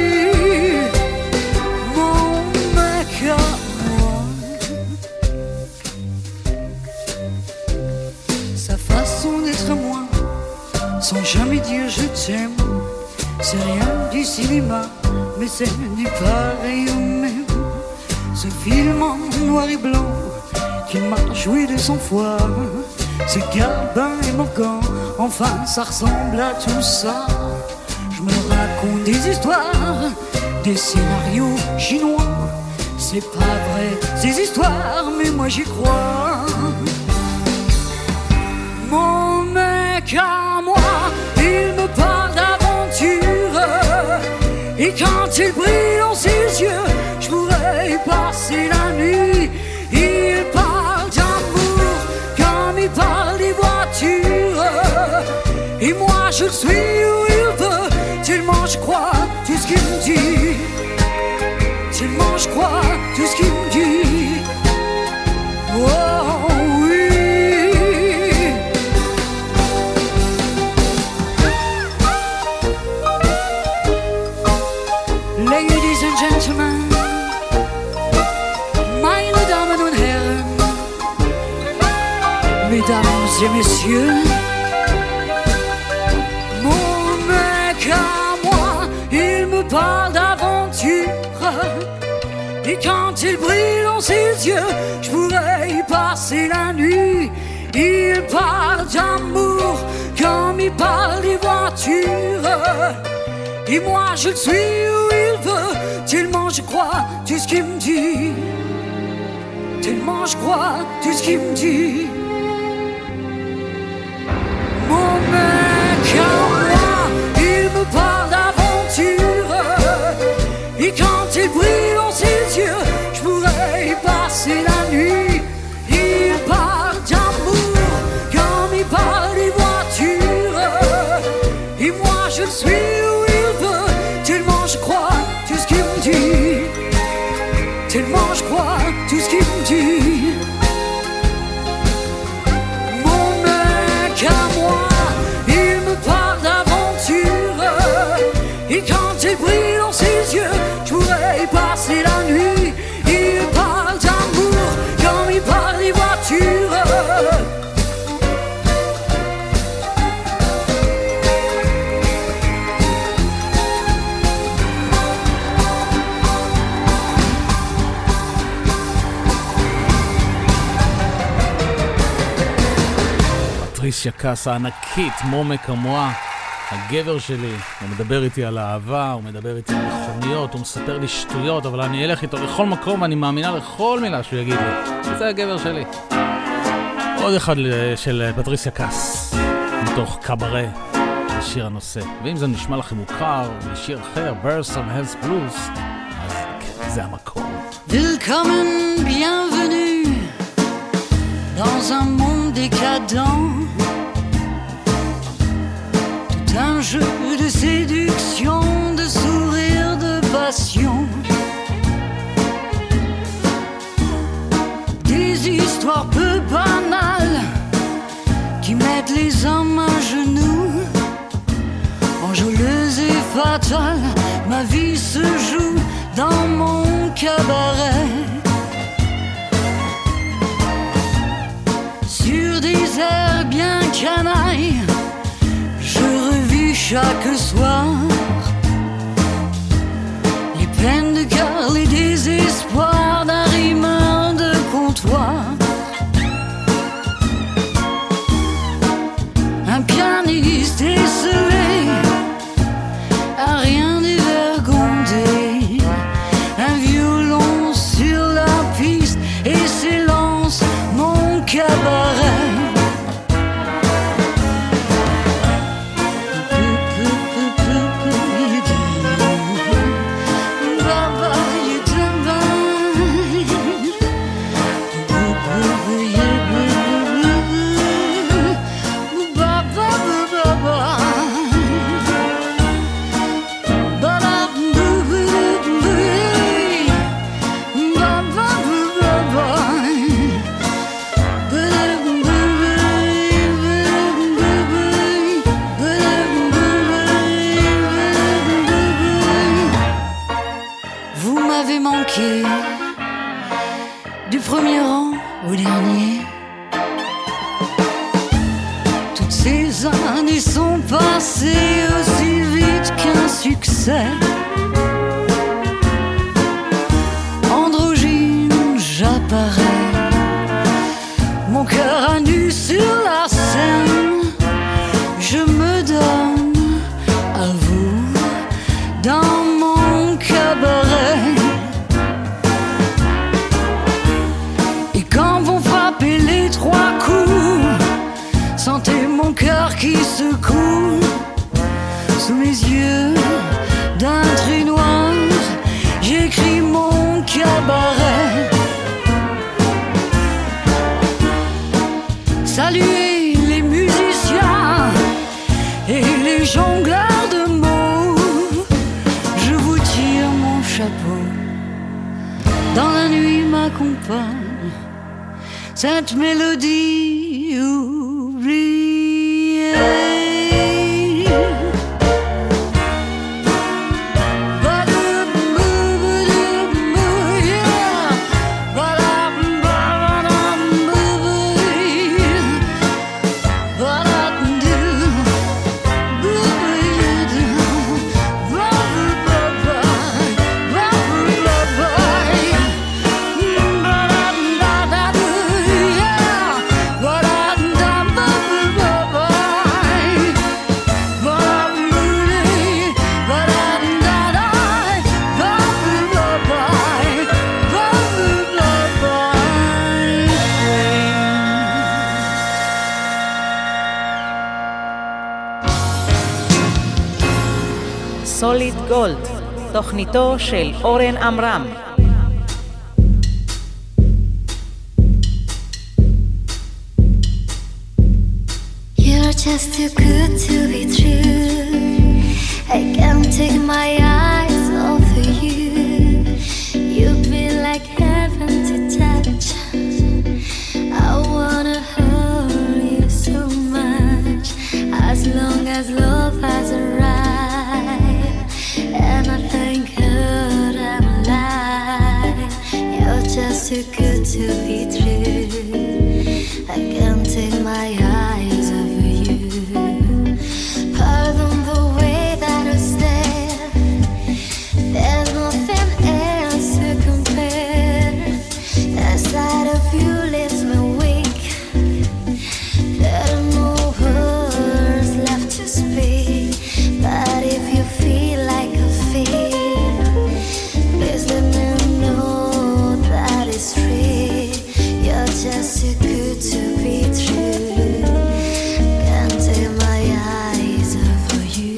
Sa façon d'être à moi, sans jamais dire je t'aime, c'est rien du cinéma, mais c'est du pareil au même. Ce film en noir et blanc qu'il m'a joué de cent fois, ce Gabin et Morgan, enfin ça ressemble à tout ça. Je me raconte des histoires, des scénarios chinois. C'est pas vrai ces histoires, mais moi j'y crois. Mon mec à moi, me parle d'aventure. Et quand il brille dans ses yeux, je pourrais y passer la nuit. Il parle d'amour comme il parle des voitures. Et moi je suis où il veut, tellement je crois tout ce qu'il me dit. Tellement je crois tout ce qu'il me dit. Oh oui. Ladies and gentlemen, meine Damen und Herren, mesdames et messieurs, mon mec à moi, il me parle d'aventure. Et quand il brille dans ses yeux, je pourrais y passer la nuit. Il parle d'amour comme il parle des voitures. Et moi je le suis où il veut, tellement je crois tout ce qu'il me dit. Tellement je crois tout ce qu'il me dit. Mon mec à moi, il me parle d'aventure. Et quand il brille dans ses yeux, je pourrais y passer la nuit. Il parle d'amour comme il parle des voitures. Et moi je le suis où il veut, tellement je crois tout ce qu'il me dit. Tellement je crois tout ce qu'il me dit. Mon mec à moi, il me parle d'aventure. Et quand il brille dans ses yeux, je pourrais y passer la nuit. Il parle d'amour comme il parle des voitures. פטריסיה קאס הענקית, מומה כמוה, הגבר שלי. הוא מדבר איתי על אהבה, הוא מדבר איתי על מכוניות, הוא מספר לי שטויות, אבל אני אלך איתו לכל מקום ואני מאמינה לכל מילה שהוא יגיד לי. זה הגבר שלי. עוד אחד של פטריסיה קאס, מתוך קאברה, שיר הנושא. ואם זה נשמע לכם מוכר, משיר אחר, Birds of Hell's Blues, אז זה המקום. Willkommen, bienvenue dans un monde décadent. Tout un jeu de séduction, de sourire, de passion. Des histoires peu banales qui mettent les hommes à genoux. Enjôleuse et fatale, ma vie se joue dans mon cabaret. Sur des airs bien canailles, je revis chaque soir les peines de cœur, les désespoirs d'un rimeur de comptoir. Un pianiste esselé, à rien dévergondé, un violon sur la piste et s'élance mon cabaret. Du premier rang au dernier, toutes ces années sont passées aussi vite qu'un succès. Androgyne, j'apparais, mon cœur à nu sur la scène. Je me donne à vous dans mon cabaret. Les trois coups, sentez mon cœur qui secoue. sous mes yeux d'un trait noir, j'écris mon cabaret. Saluez les musiciens et les jongleurs de mots. Je vous tire mon chapeau. Dans la nuit m'accompagne cette mélodie oubliée. סוליד גולד, תוכניתו של אורן עמרם. You're just too good to be true. I can't take my eyes off of you. You've been like heaven to touch. I wanna hold you so much. As long as love has arrived, and I thank God I'm alive. You're just too good to be true. I can't take my eyes off of you. Pardon the way that I stare. There's nothing else to compare. The sight of you leaves me weak. There are no words left to speak. But if you feel like I feel, please let me know that it's true. You're just too good to be true. Can't take my eyes off of you.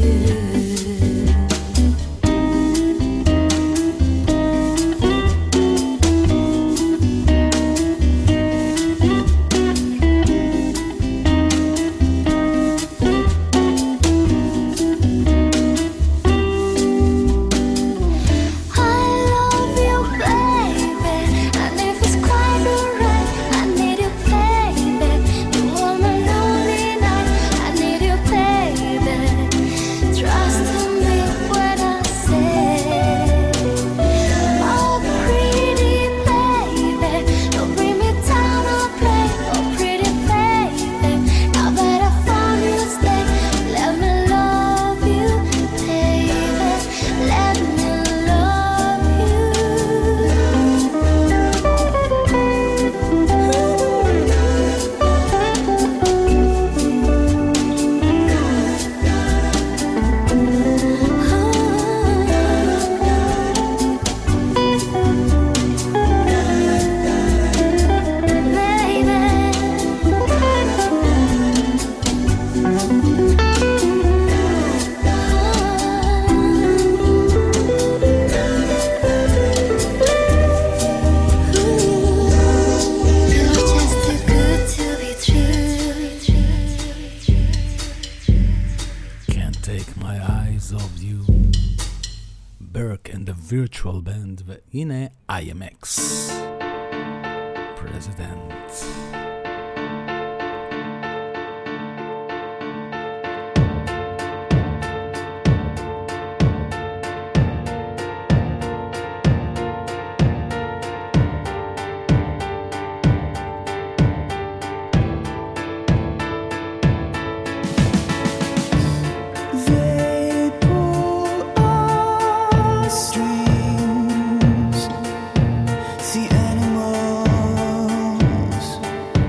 virtual band, והנה I M X President. Strings, the animals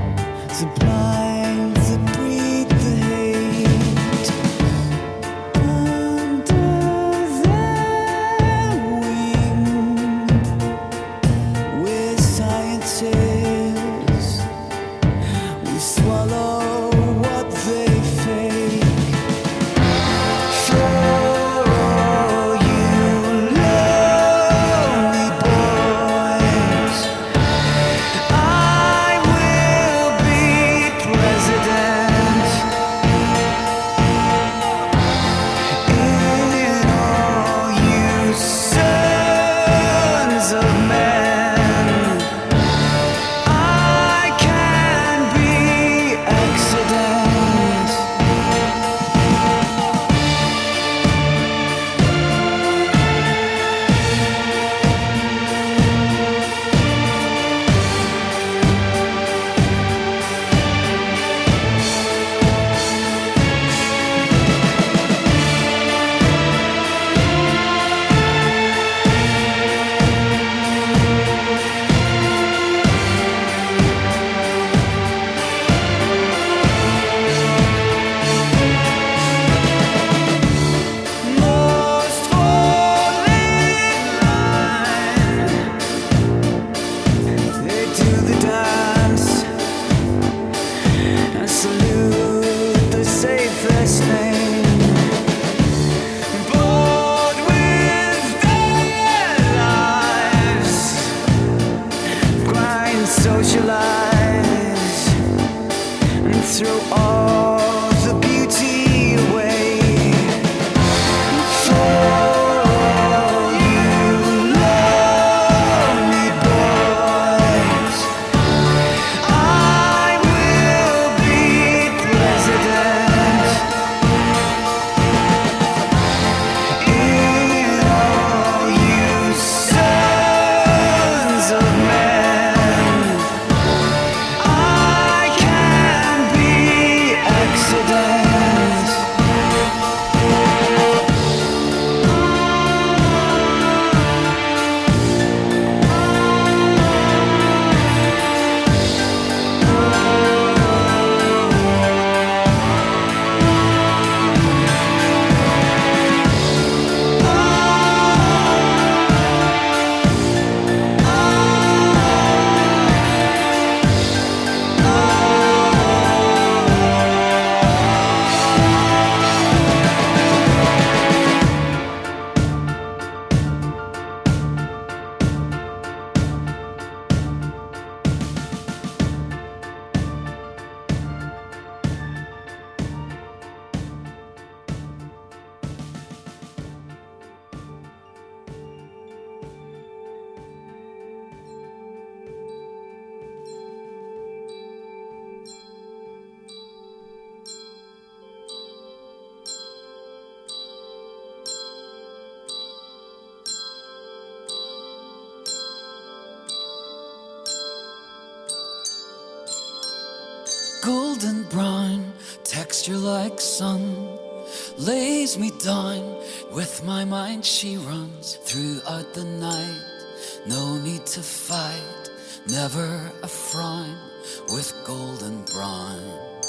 golden brown, texture like sun, lays me down. With my mind she runs throughout the night. No need to fight, never a frown with golden brown.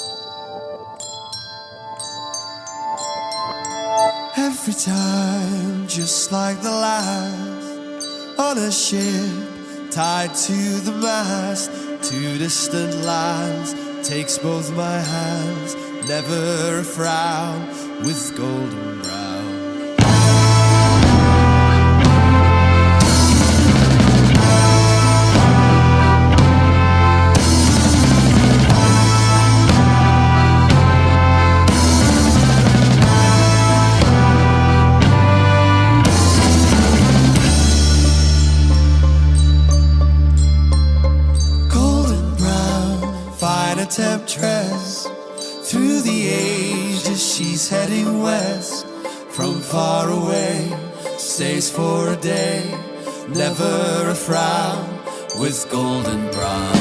Every time, just like the last, on a ship tied to the mast, to distant lands, takes both my hands, never a frown with golden brown. Temptress, through the ages she's heading west. From far away, stays for a day, never a frown with golden brown.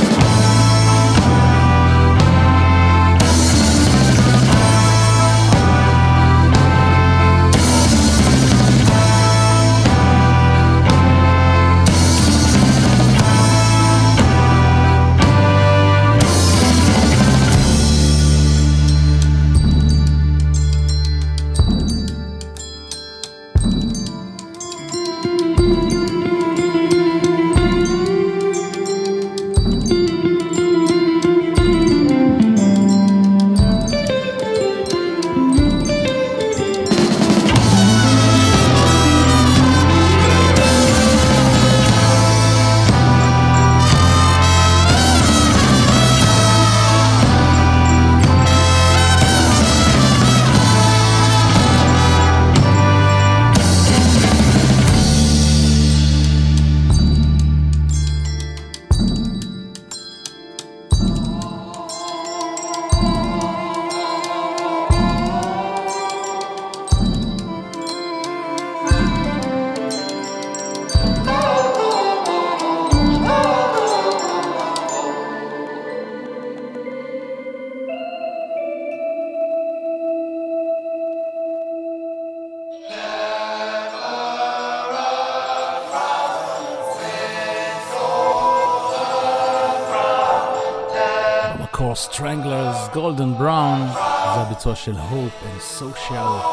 Stranglers, Golden Brown, זה הביצוע של Hope and Social.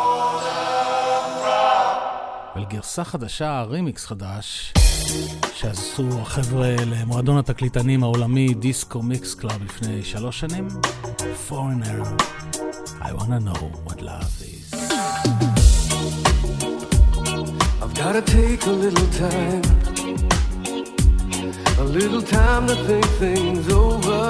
ולגרסה חדשה, רימיקס חדש, שעשו החבר'ה למועדון התקליטנים העולמי דיסקו מיקס קלאב לפני שלוש שנים. Foreigner, I wanna know what love is. I've gotta take a little time, a little time to think things over.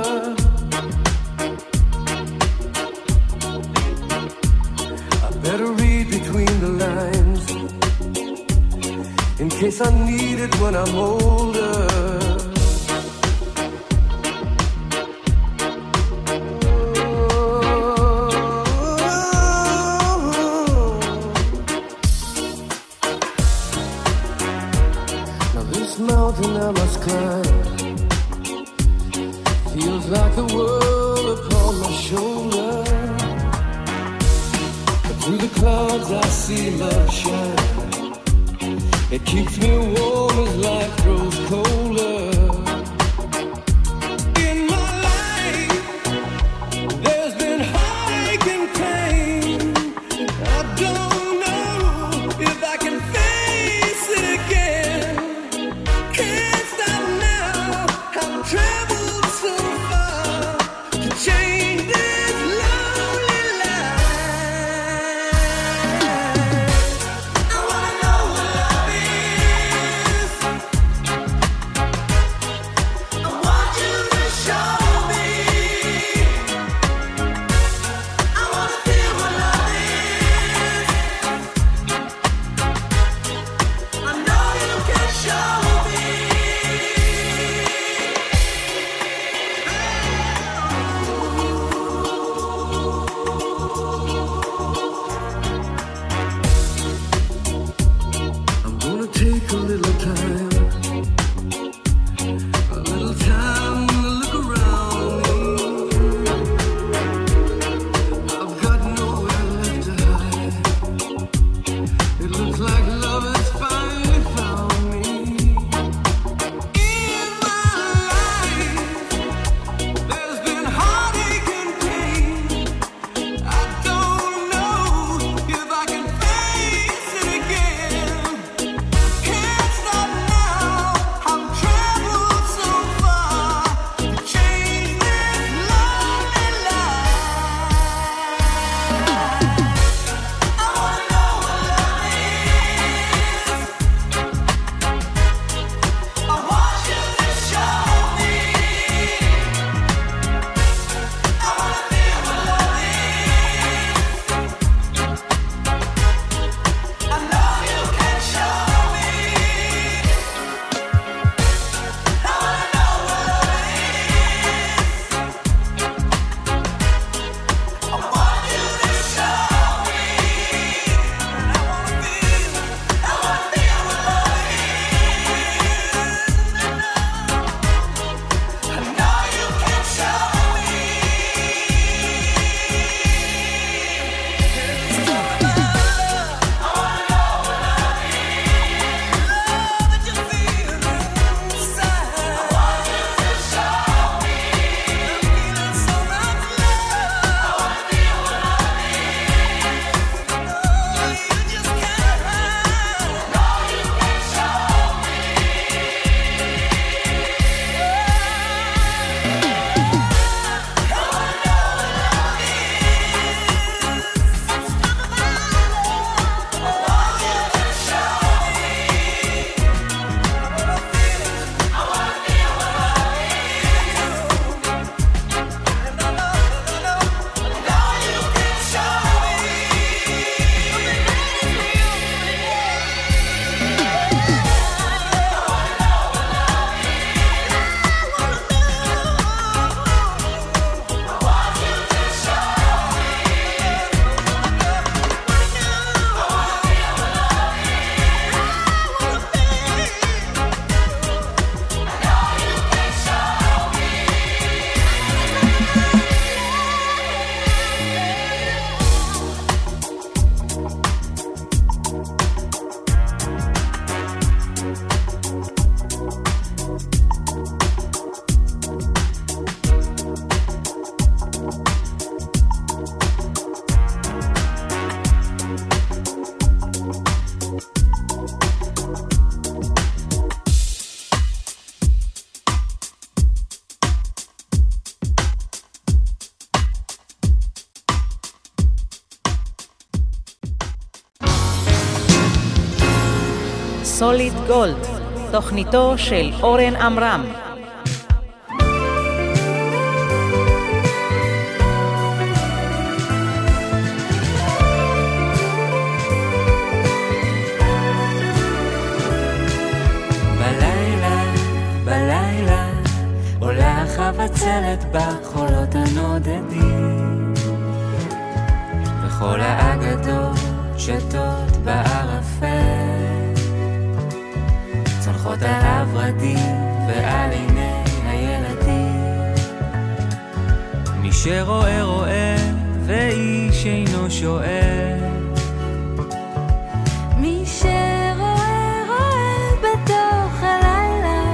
Better read between the lines, in case I need it when I'm older. Now this mountain I must climb feels like the world upon my shoulder. Through the clouds I see love shine. It keeps me warm as life grows colder. In my life, there's been heartache and pain. I don't know if I can face it again. Can't stop now. I've traveled so far to change this lonely life. I wanna know what love is. סוליד גולד, תוכניתו של אורן עמרם. בלילה, בלילה, עולה חבצלת בחולות הנודדים, וכל האגדות שתות בערפל, צונחות על הורדים ועל עיני הילדים. מי שרואה רואה ואיש אינו שואל, מי שרואה רואה בתוך הלילה.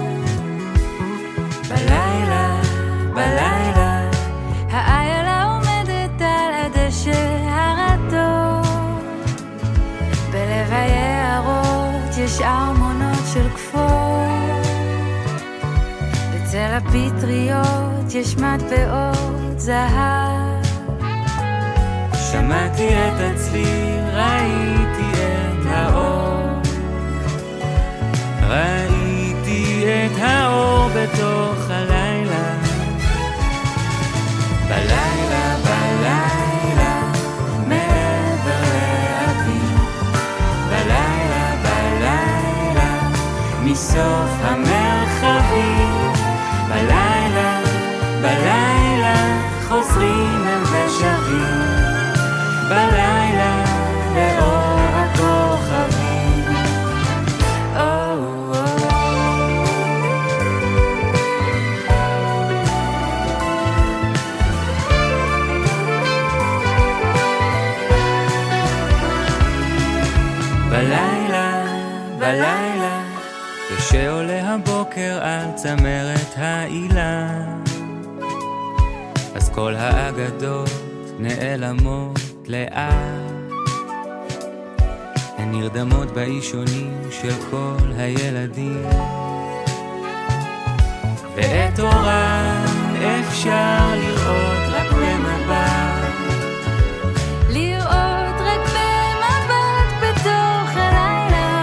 בלילה, בלילה, האיילה עומדת על הדשא הרטוב, בלב היערות יש ארמונות של כפור, בצל הפטריות יש מטבעות זהב. שמעתי את הצליל, ראיתי את האור, ראיתי את האור בתוך הלילה. בלילה, בלילה, מעבר לאביב, בלילה, בלילה, מסוף המרחבים, בלילה, בלילה, חוזרים הם ושבים, בלילה, לאור הכוכבים. Oh, oh. בלילה, בלילה, כשעולה הבוקר על צמרת העילה, אז כל האגדות נעלמות לאט, הן נרדמות באישונים של כל הילדים, ואת אורם אפשר לראות רק במבט, לראות רק במבט בתוך הלילה.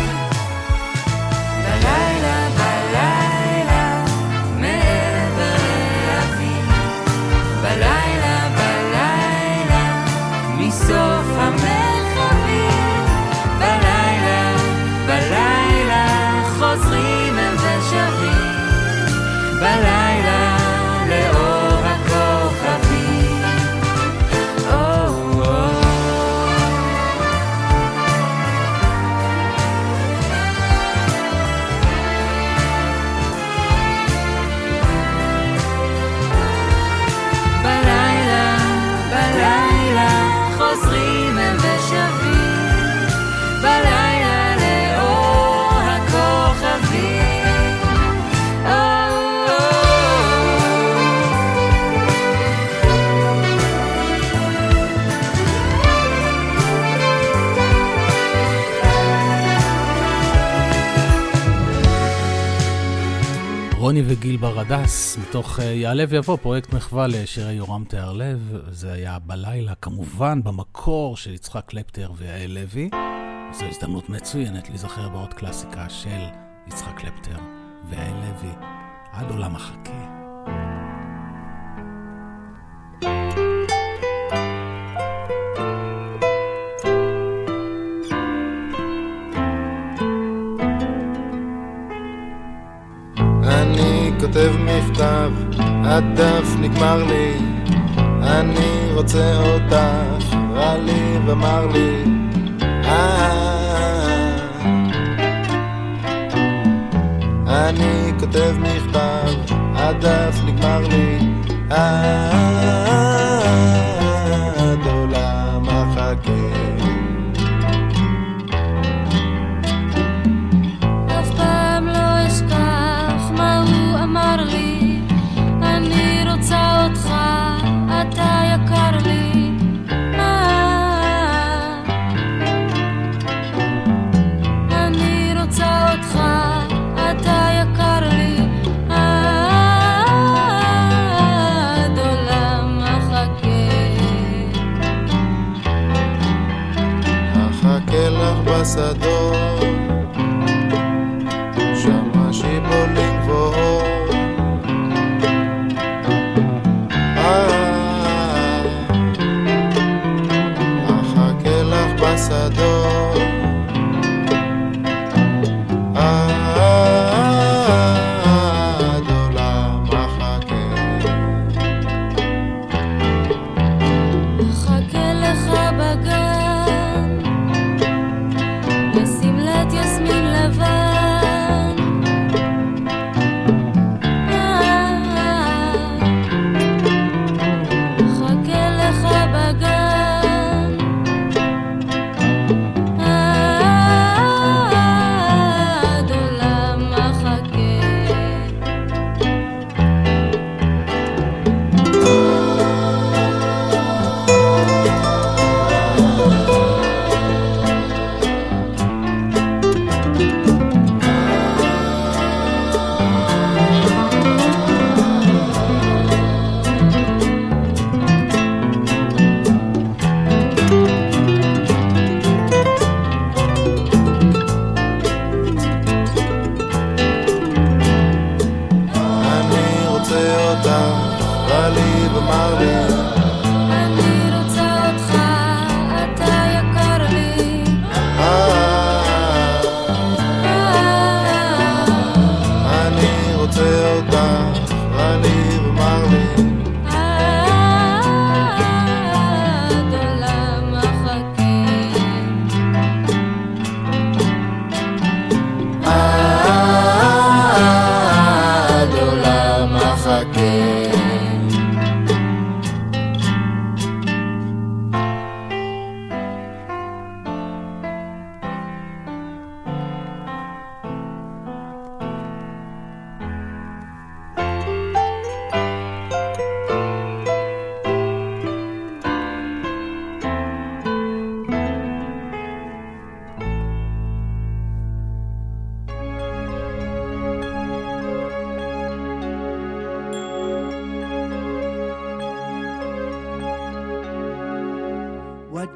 בלילה, בלילה, מעבר לאביב, בלילה, בלילה, מסוף המרחבים, בלילה, בלילה, חוזרים הם ושבים, בלילה, לאור הכוכבים. Oh, oh. בלילה, בלילה, חוזרים הם ושבים, בלילה, לאור הכוכבים. Oh, oh. רוני וגיל ברדס, מתוך יעלה ויבוא, פרויקט מחווה לשירי יורם תיארלב. זה היה בלילה, כמובן, במקור של יצחק קלפטר ויעל לוי. זו הזדמנות מצוינת להיזכר בעוד קלאסיקה של יצחק קלפטר ויעל לוי, עד עולם החכה. אני כותב מכתב, הדף נגמר לי, אני רוצה אותך, רע לי ומר לי. אני כותב מכתב, הדף נגמר לי, עד עולם החכה. אף פעם לא אשכח מה הוא אמר לי, אני רוצה אותך, אתה יקר לי. אני רוצה אותך, אתה יקר לי, עד עולם החכה. החכה לך בשדות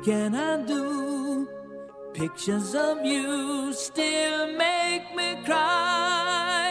can I do? Pictures of you still make me cry.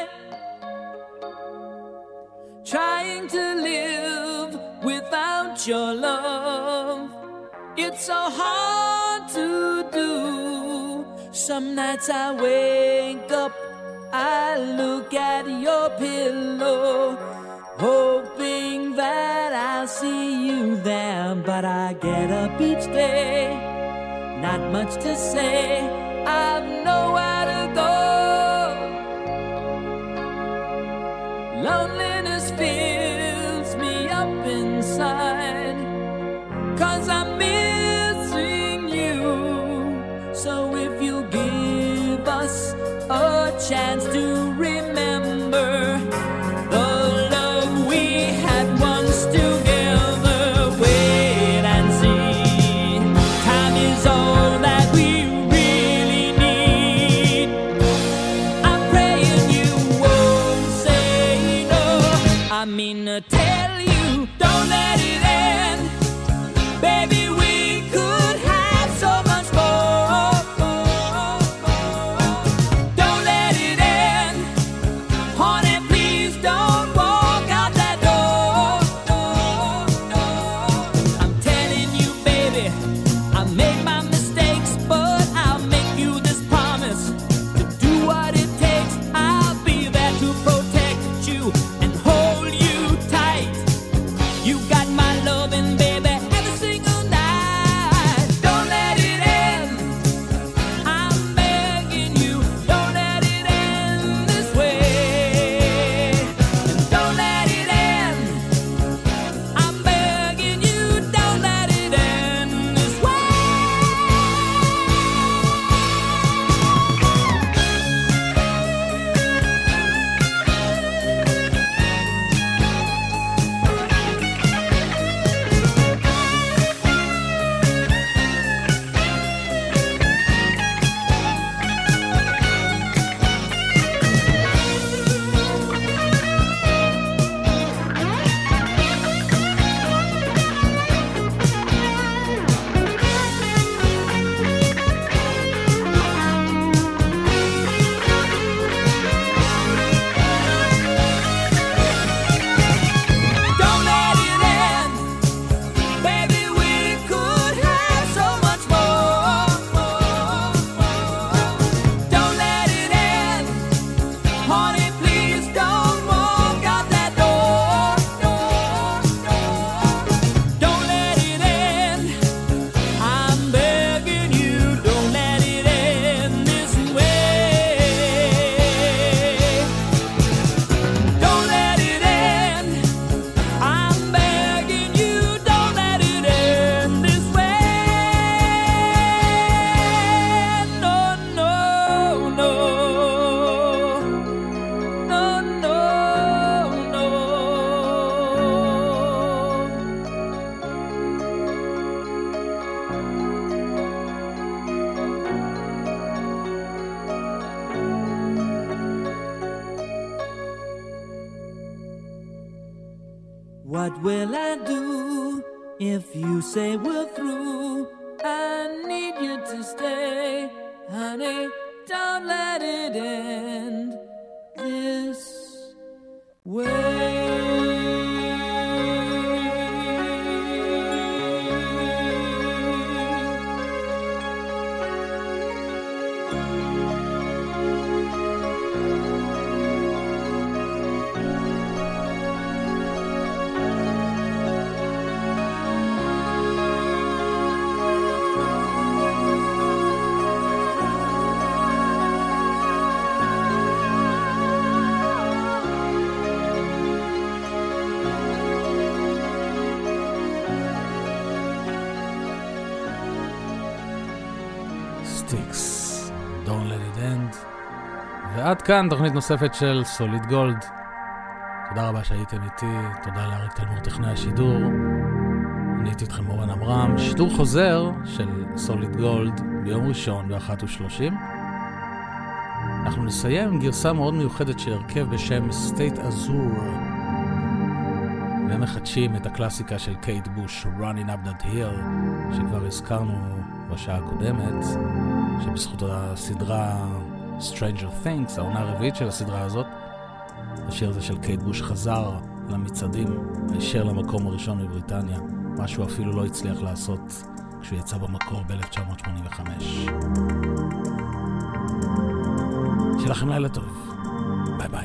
Trying to live without your love, it's so hard to do. Some nights I wake up, I look at your pillow, hoping that I'll see you there. But I get up each day, not much to say, I've nowhere to go. Loneliness fills me up inside, 'cause I'm missing you. So if you give us a chance to remember the love we had once together, wait and see. Time is all that we really need. I'm praying you won't say no. I mean to tell you, don't let it end. Baby, we could have so much more. Don't let it end. Honey, please don't walk out that door. I'm telling you, baby, I made my mistakes, but I'll make you this promise to do what it takes. I'll be there to protect you and hold you tight. You got my loving, baby, every single night. Don't let it end. I'm begging you, don't let it end this way. And don't let it end. I'm begging you, don't let it end this way. Don't let it end. Baby, we could have so much more. Don't let it end. Honey, please don't walk out that door. Don't let it end. I'm begging you, don't let it end this way. Don't let it end. I'm begging you, don't let it end this way. No, no, no. No, no, no. What will I do if you say we're through? I need you to stay, honey. Don't let it end this way. Sticks, Don't Let It End. ועד כאן תוכנית נוספת של סוליד גולד. תודה רבה שהייתם איתי, תודה לאריק תלמור טכנאי השידור. אני הייתי איתכם אורן עמרם. שידור חוזר של סוליד גולד ביום ראשון ב-אחת ושלושים. אנחנו נסיים עם גרסה מאוד מיוחדת של הרכב בשם סטייט אזור. ומחדשים את הקלאסיקה של קייט בוש, Running Up That Hill, שכבר הזכרנו בשעה הקודמת, שבזכות הסדרה Stranger Things, העונה הרביעית של הסדרה הזאת, השיר הזה של קייט בוש חזר למצעדים, הישר למקום הראשון בבריטניה, מה שהוא אפילו לא הצליח לעשות כשהוא יצא במקור ב-אלף תשע מאות שמונים וחמש. שיהיה לכם לילה טוב, ביי ביי.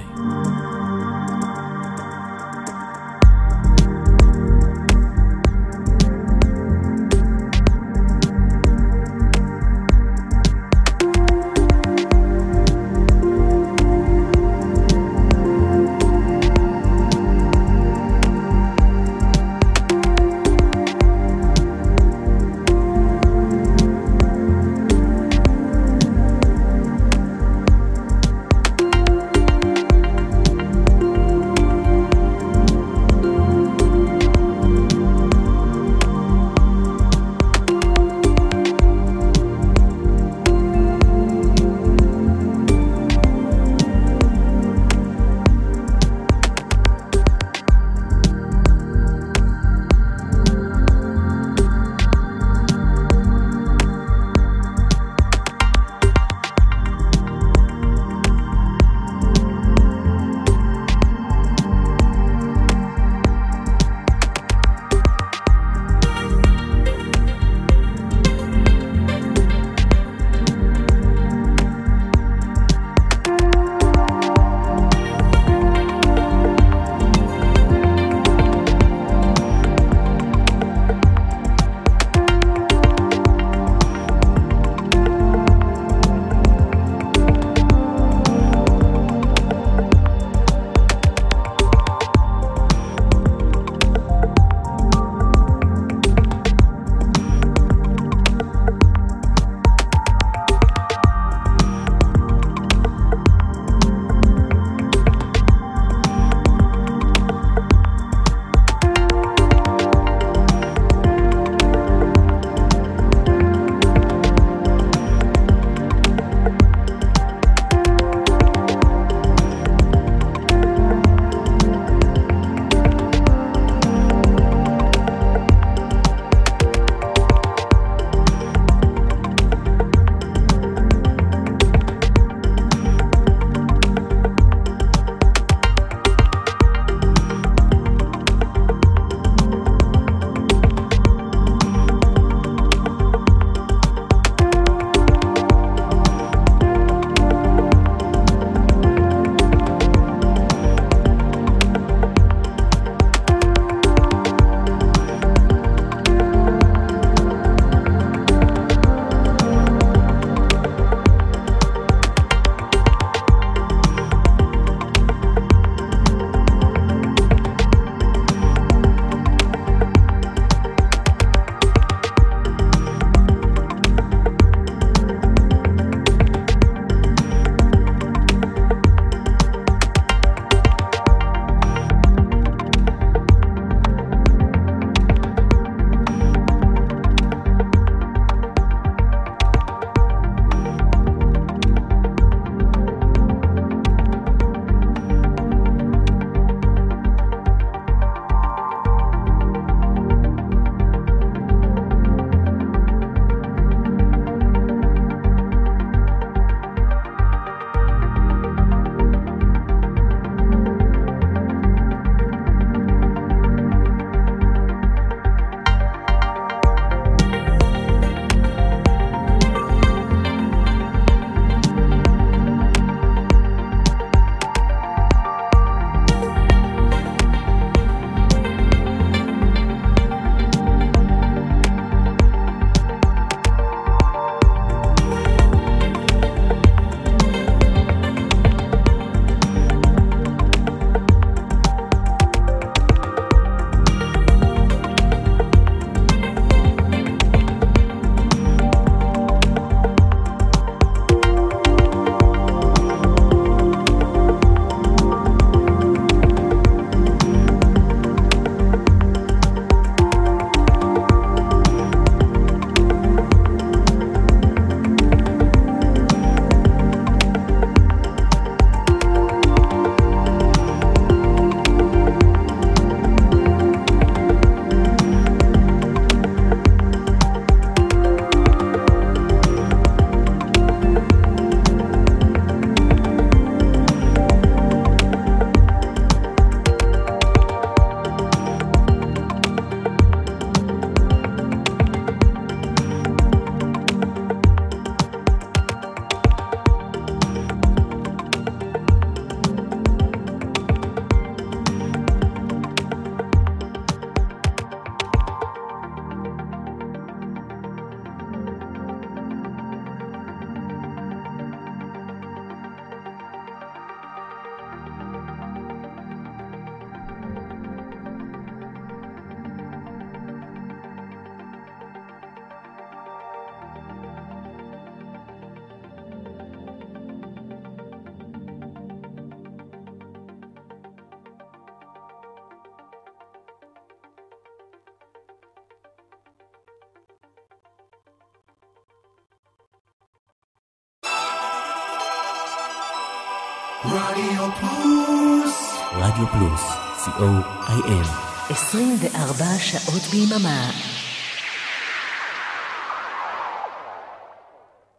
רדיו פלוס. רדיו פלוס, סי או איי אל. עשרים וארבע שעות ביממה.